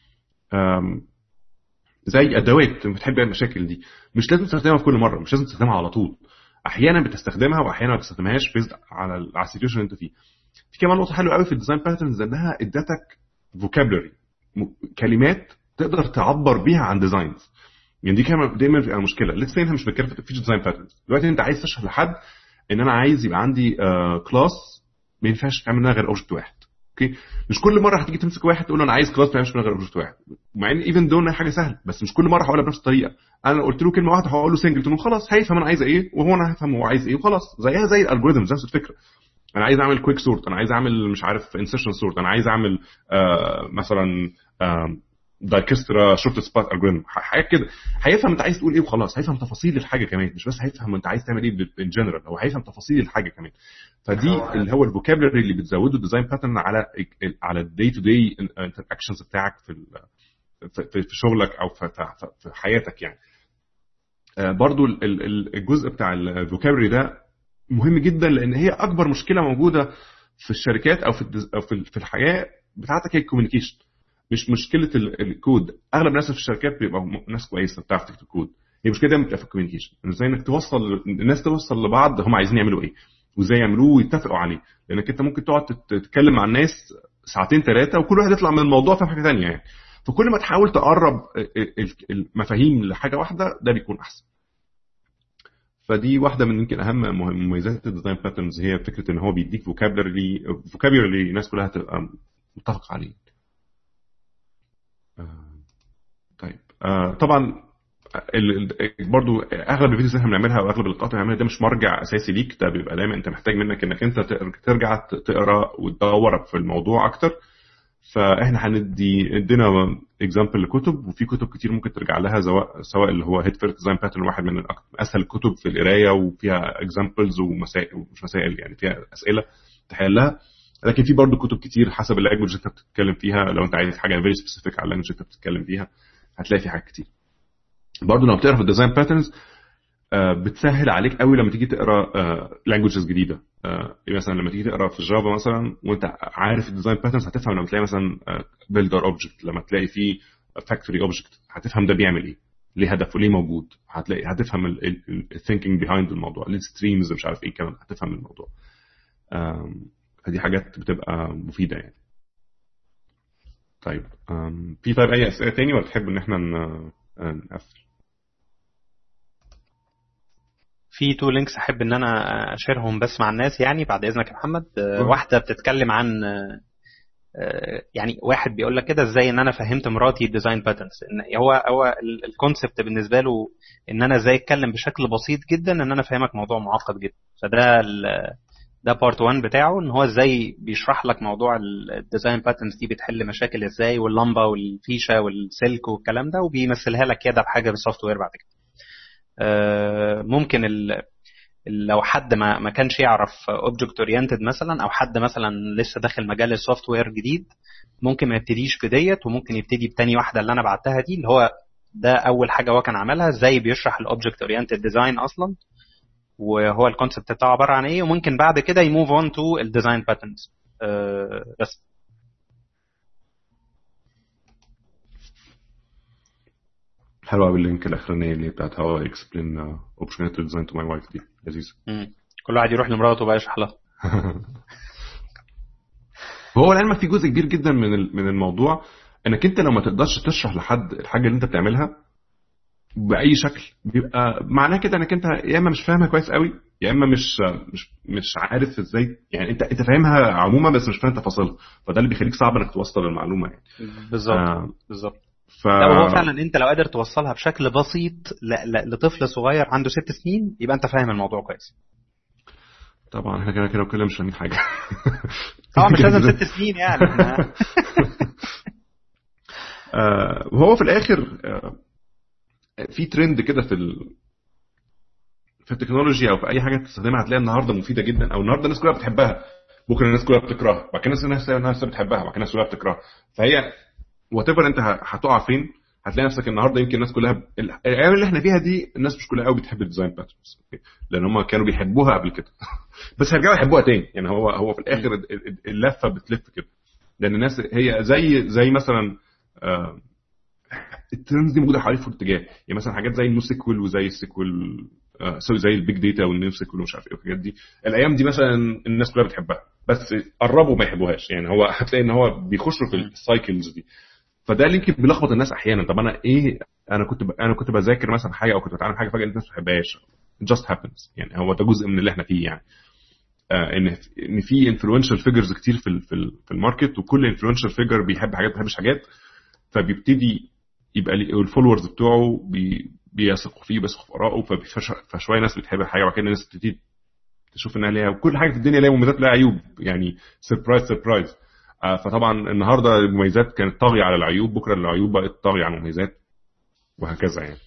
زي ادوات بتحل بيها المشاكل دي. مش لازم تستخدمها في كل مره، مش لازم تستخدمها على طول، احيانا بتستخدمها واحيانا ما بتستخدمهاش بيزد على على السيتويشن اللي انت فيه. في كمان نقطه حلوه قوي في الديزاين باترنز انها ادتك فوكابلري، كلمات تقدر تعبر بيها عن ديزاينز. يعني دي كمان دايما بتبقى مشكله. لسه انت مش بتتكلم في ديزاين باترنز دلوقتي، انت عايز تشرح لحد ان انا عايز يبقى عندي كلاس ما ينفعش تعمل منها غير اوبجكت واحد. اوكي، مش كل مره هتيجي تمسك واحد تقول له انا عايز كلاس ما ينفعش منها غير اوبجكت واحد، مع ان ايفن دون حاجه سهله، بس مش كل مره هقولها بنفس الطريقه. انا قلت له كلمه واحده هقول له سنجلتون وخلاص، هيفهم انا عايز ايه وهو انا هفهم هو عايز ايه وخلاص. زيها زي الالجوريثمز نفس الفكره. انا عايز اعمل كويك سورت، انا عايز اعمل مش عارف انسيرشن سورت، انا عايز اعمل آه مثلا آه دايكسترا شورت سبات الجوريثم، حاجه كده. هيفهم انت عايز تقول ايه وخلاص، هيفهم تفاصيل الحاجه كمان، مش بس هيفهم انت عايز تعمل ايه ان جنرال، هو هيفهم تفاصيل الحاجه كمان. فدي اللي هو الفوكابلري اللي بتزوده الديزاين باترن على على الداي تو داي انتراكشنز بتاعك في في شغلك او في حياتك يعني. برضو الجزء بتاع الفوكابلري ده مهم جدا، لان هي اكبر مشكله موجوده في الشركات او في او في الحياه بتاعتك هي الكوميونيكيشن، مش مشكله الكود. اغلب الناس في الشركات بيبقوا ناس كويسه بتعرف تكتب كود، هي مشكله دايما بتبقى في الكوميونيكيشن، ازاي انك توصل الناس توصل لبعض هم عايزين يعملوا ايه وازاي يعملوه ويتفقوا عليه. لانك انت ممكن تقعد تتكلم مع الناس ساعتين ثلاثه وكل واحد يطلع من الموضوع فاهم حاجه ثانيه يعني. فكل ما تحاول تقرب المفاهيم لحاجه واحده ده بيكون احسن. فدي واحده من يمكن اهم مميزات الديزاين باترنز، هي فكره ان هو بيديك فوكابلري فوكابلري الناس كلها تبقى متفق عليه. طيب آه طبعا برضو اغلب الفيديوز اللي احنا بنعملها واغلب اللقاءات اللي بنعملها ده مش مرجع اساسي ليك، ده بيبقى دايما انت محتاج منك انك انت ترجع تقرا وتدور في الموضوع اكتر. فاحنا هندي ادينا اكزامبل لكتب، وفي كتب كتير ممكن ترجع لها سواء سواء اللي هو هيد فيرست ديزاين باترن، واحد من اسهل الكتب في القرايه وفيها اكزامبلز ومسائل ومش مسائل يعني فيها اسئله تحلها. لكن في برضو كتب كتير حسب اللانجويج اللي انت بتتكلم فيها، لو انت عايز حاجه فيري سبيسيفيك على اللانجويج اللي انت بتتكلم فيها هتلاقي في حاجات كتير. برضو لما بتقرا في الديزاين باترنز بتسهل عليك قوي لما تيجي تقرا لانجويجز جديده. مثلا لما تيجي تقرا في الجافا مثلا وانت عارف الديزاين باترنز هتفهم لما تلاقي مثلا بيلدر اوبجكت، لما تلاقي فيه فاكتوري اوبجكت هتفهم ده بيعمل ايه، ليه هدفه، ليه موجود، هتلاقي هتفهم الثينكينج بيهايند الموضوع، الستريمز مش عارف ايه كمان هتفهم الموضوع. فدي حاجات بتبقى مفيده يعني. طيب في طيب اي اسئله تاني ولا تحب ان احنا نقفل؟ في تو لينكس احب ان انا اشيرهم بس مع الناس يعني بعد اذنك يا محمد. واحده بتتكلم عن يعني واحد بيقول لك كده ازاي ان انا فهمت مراتي الديزاين باترنز. ان هو هو الكونسبت بالنسبه له ان انا ازاي اتكلم بشكل بسيط جدا ان انا افهمك موضوع معقد جدا. فده ده بارت واحد بتاعه، ان هو ازاي بيشرح لك موضوع الديزاين باترنز دي بتحل مشاكل ازاي، واللمبه والفيشه والسلك والكلام ده، وبيمثلها لك كده بحاجه بالسوفت وير بعد كده. ممكن ال... لو حد ما ما كانش يعرف اوبجكت اورينتد مثلا، او حد مثلا لسه داخل مجال السوفت وير جديد، ممكن ما يبتديش بديت وممكن يبتدي بتاني واحده اللي انا بعتها دي، اللي هو ده اول حاجه هو كان عملها، ازاي بيشرح الاوبجكت اورينتد ديزاين اصلا وهو الكونسبت بتاعه عباره عن ايه، وممكن بعد كده يموف اون تو الديزاين باترنز. أه بس حلوه قوي اللينك الاخرانيه اللي بتاعت هاو اكسبلين اوبشنال ديزاين تو ماي وايف دي لذيذه. كل واحد يروح لمراته بقى يشرح لها. هو العلم في جزء كبير جدا من من الموضوع انك انت لو ما تقدرش تشرح لحد الحاجه اللي انت بتعملها باي شكل، بيبقى معناه كده انك انت يا اما مش فاهمها كويس قوي، يا اما مش مش مش عارف ازاي، يعني انت انت فاهمها عموما بس مش فاهم تفاصيلها، فده اللي بيخليك صعب انك توصل المعلومه يعني. بالظبط آه بالظبط. ف... لو هو فعلا انت لو قادر توصلها بشكل بسيط ل... ل... لطفل صغير عنده ست سنين يبقى انت فاهم الموضوع كويس. طبعا احنا كده كده كلنا مش فاهمين حاجه. طبعا مش لازم ست سنين يعني. آه وهو في الاخر آه في ترند كده في ال... في التكنولوجيا او في اي حاجه تستخدمها هتلاقيها النهارده مفيده جدا، او النهارده الناس كلها بتحبها، بكره الناس كلها بتكرهها، بعد كده الناس الناس بتحبها، بعد كده الناس كلها بتكرهها. فهي واتيفر انت هتقع فين هتلاقي نفسك النهارده يمكن الناس كلها الايام اللي احنا فيها دي الناس مش كلها قوي بتحب الديزاين باترنز لان هم كانوا بيحبوها قبل كده. بس هيرجعوا يحبوها تاني، يعني هو هو في الاخر اللفه بتلف كده، لان الناس هي زي زي مثلا آه الترندز دي موجوده حوالي في اتجاه، يعني مثلا حاجات زي النو سيكوال وزي السيكوال آه زي البيج داتا والنيو سيكوال ومش عارف ايه والحاجات دي، الايام دي مثلا الناس كلها بتحبها بس قربوا ما يحبوهاش، يعني هو هتلاقي ان هو بيخشوا في السايكلز دي. فده اللي يمكن بيلخبط الناس احيانا. طب انا ايه انا كنت ب... انا كنت بذاكر مثلا حاجه او كنت بتعلم حاجه فجاه الناس ما بتحبهاش، just happens، يعني هو ده جزء من اللي احنا فيه يعني. آه ان ان في انفلونشال فيجرز كتير في ال... في, ال... في الماركت، وكل انفلونشال فيجر بيحب حاجات ما بيحبش حاجات، فبيبتدي يبقى الفولورز بتوعه بي... بيثقوا فيه بيثقوا في ارائه، فبيفش... فشويه ناس بتحب حاجه وبعد كده الناس بتبتدي تشوف انها ليها، وكل حاجه في الدنيا ليها مميزات لها عيوب، يعني سربرايز سربرايز. فطبعا النهارده المميزات كانت طاغيه على العيوب، بكره العيوب بقت طاغيه على المميزات، وهكذا يعني.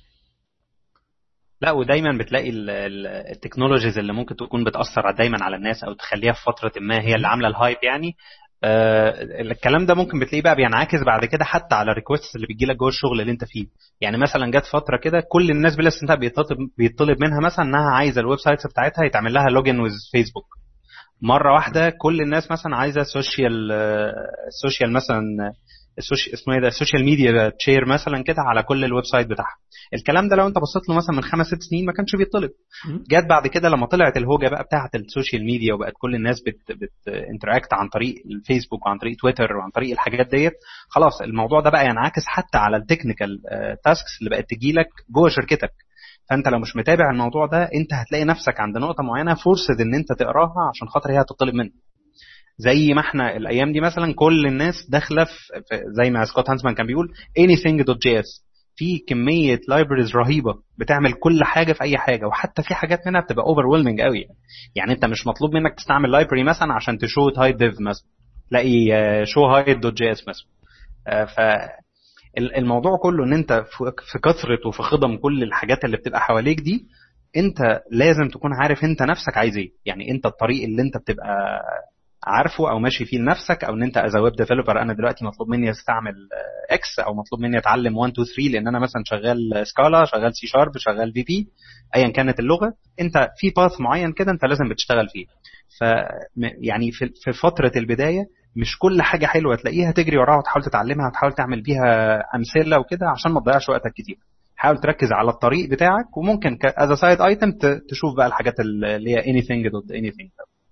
لا ودايما بتلاقي التكنولوجيز اللي ممكن تكون بتاثر دايما على الناس او تخليها في فتره ما هي اللي عامله الهايب يعني. آه الكلام ده ممكن بتلاقيه بقى بينعكس بعد كده حتى على الريكوست اللي بتجي لك جوه الشغل اللي انت فيه. يعني مثلا جت فتره كده كل الناس بلا استثناء بيطلب بيطلب منها مثلا انها عايزه الويب سايتس بتاعتها يتعمل لها لوجن ويز فيسبوك. مره واحده كل الناس مثلا عايزه سوشيال سوشيال مثلا السوشيال اسمه ايه ده السوشيال ميديا تشير مثلا كده على كل الويب سايت بتاعها. الكلام ده لو انت بصيت له مثلا من خمس ست سنين ما كانش بيطلب. جت بعد كده لما طلعت الهوجه بقى بتاعه السوشيال ميديا وبقت كل الناس بت بت انتراكت عن طريق الفيسبوك وعن طريق تويتر وعن طريق الحاجات ديت، خلاص الموضوع ده بقى ينعكس حتى على التكنيكال تاسكس اللي بقت تجي لك جوه شركتك. فانت لو مش متابع الموضوع ده انت هتلاقي نفسك عند نقطه معينه فرصه ان انت تقراها عشان خاطر هي هتطلب منك. زي ما احنا الايام دي مثلا كل الناس داخله في زي ما سكوت هانسمان كان بيقول anything.js، في كميه لايبريز رهيبه بتعمل كل حاجه في اي حاجه، وحتى في حاجات منها بتبقى overwhelming قوي يعني. يعني انت مش مطلوب منك تستعمل لايبرري مثلا عشان تشو هايد ديف مثلا، تلاقي شو هايد.js مثلا. ف الموضوع كله ان انت في كثره وفي خضم كل الحاجات اللي بتبقى حواليك دي، انت لازم تكون عارف انت نفسك عايز ايه. يعني انت الطريق اللي انت بتبقى عارفه او ماشي فيه لنفسك، او ان انت از ويب ديفلوبر انا دلوقتي مطلوب مني استعمل اكس او مطلوب مني اتعلم واحد اتنين تلاته لان انا مثلا شغال سكالا شغال سي شارب شغال في بي ايا كانت اللغه، انت في باث معين كده انت لازم بتشتغل فيه. ف يعني في فتره البدايه مش كل حاجه حلوه تلاقيها تجري وراها وتحاول تتعلمها وتحاول تعمل بيها امثله وكده عشان ما تضيعش وقتك كتير. حاول تركز على الطريق بتاعك، وممكن از سايد ايتم تشوف بقى الحاجات اللي هي anything دوت anything.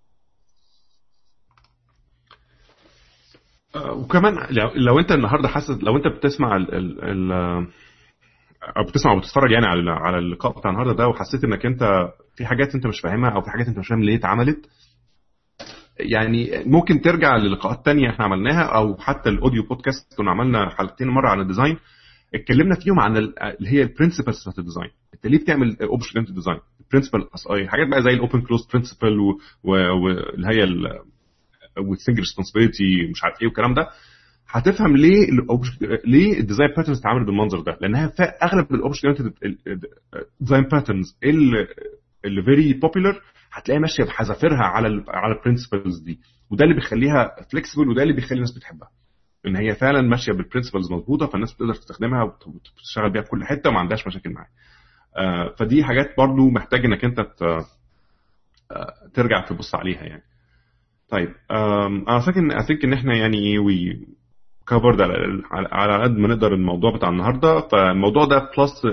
وكمان لو انت النهارده حاسس لو انت بتسمع ال ال ال او بتسمع او بتتفرج يعني على على اللقاء بتاع النهارده ده، وحسيت انك انت في حاجات انت مش فاهمها او في حاجات انت مش فاهم ليه اتعملت، يعني ممكن ترجع للقاءات تانية احنا عملناها، او حتى الاوديو بودكاست كنا عملنا حلقتين مره عن الديزاين اتكلمنا فيهم عن اللي هي البرنسبلز بتاعت الديزاين. انت ليه بتعمل اوبشن انت ديزاين برنسبل اي حاجات بقى زي الاوبن كلوز برنسبل واللي هي والسنجل ريسبونسبيلتي مش عارف ايه والكلام ده. هتفهم ليه ليه الديزاين باترنز اتعملت بالمنظر ده، لانها في اغلب الاوبشن ديزاين باترنز اللي فيري بوبيلر هتلاقي ماشيه بحذافيرها على ال على البرنسبلز دي، وده اللي بيخليها فليكسبل وده اللي بيخلي الناس بتحبها. ان هي فعلا ماشيه بالبرنسبلز مظبوطه، فالناس بتقدر تستخدمها وتشتغل بيها في كل حته وما عندهاش مشاكل معاها. آه فدي حاجات برضو محتاج انك انت ترجع تبص عليها يعني. طيب انا فاكر ان اثينك ان احنا يعني وي كفرد على على قد ما نقدر الموضوع بتاع النهارده. فالموضوع ده بلس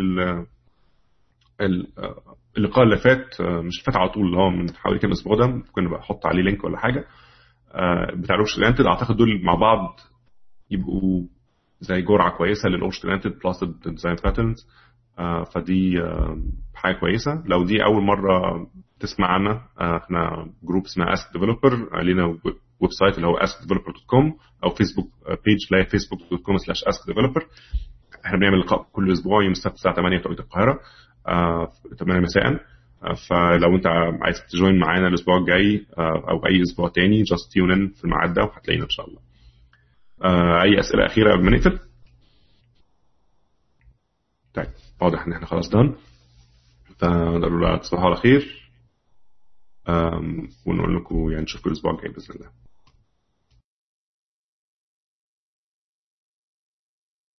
اللقاء اللي فات، مش فات على طول، اللي هو من حوالي كام اسبوع ده، ممكن بقى احط عليه لينك ولا حاجه بتاع الاورش تالنتد. اعتقد دول مع بعض يبقوا زي جرعه كويسه للاورش تالنتد بلس الديزاين باترنز. فدي حاجه كويسه. لو دي اول مره تسمع عنا، احنا جروب اسمها اسك ديفلوبر، لينا ويب سايت اللي هو ask developer dot com او فيسبوك بيج اللي هي facebook dot com slash ask developer. احنا بنعمل لقاء كل اسبوع يوم السبت الساعه ثمانية بتوقيت القاهره، ثمانية مساء. فلو انت عايز تجوين معانا الاسبوع الجاي او اي اسبوع تاني just tune in في الميعاد ده وهتلاقينا ان شاء الله. اي اسئله اخيره قبل ما نقفل؟ طيب واضح ان احنا خلاص دهن. فنقول لكم تصبحوا على خير ونقول لكم يعني نشوفكم الاسبوع الجاي باذن الله.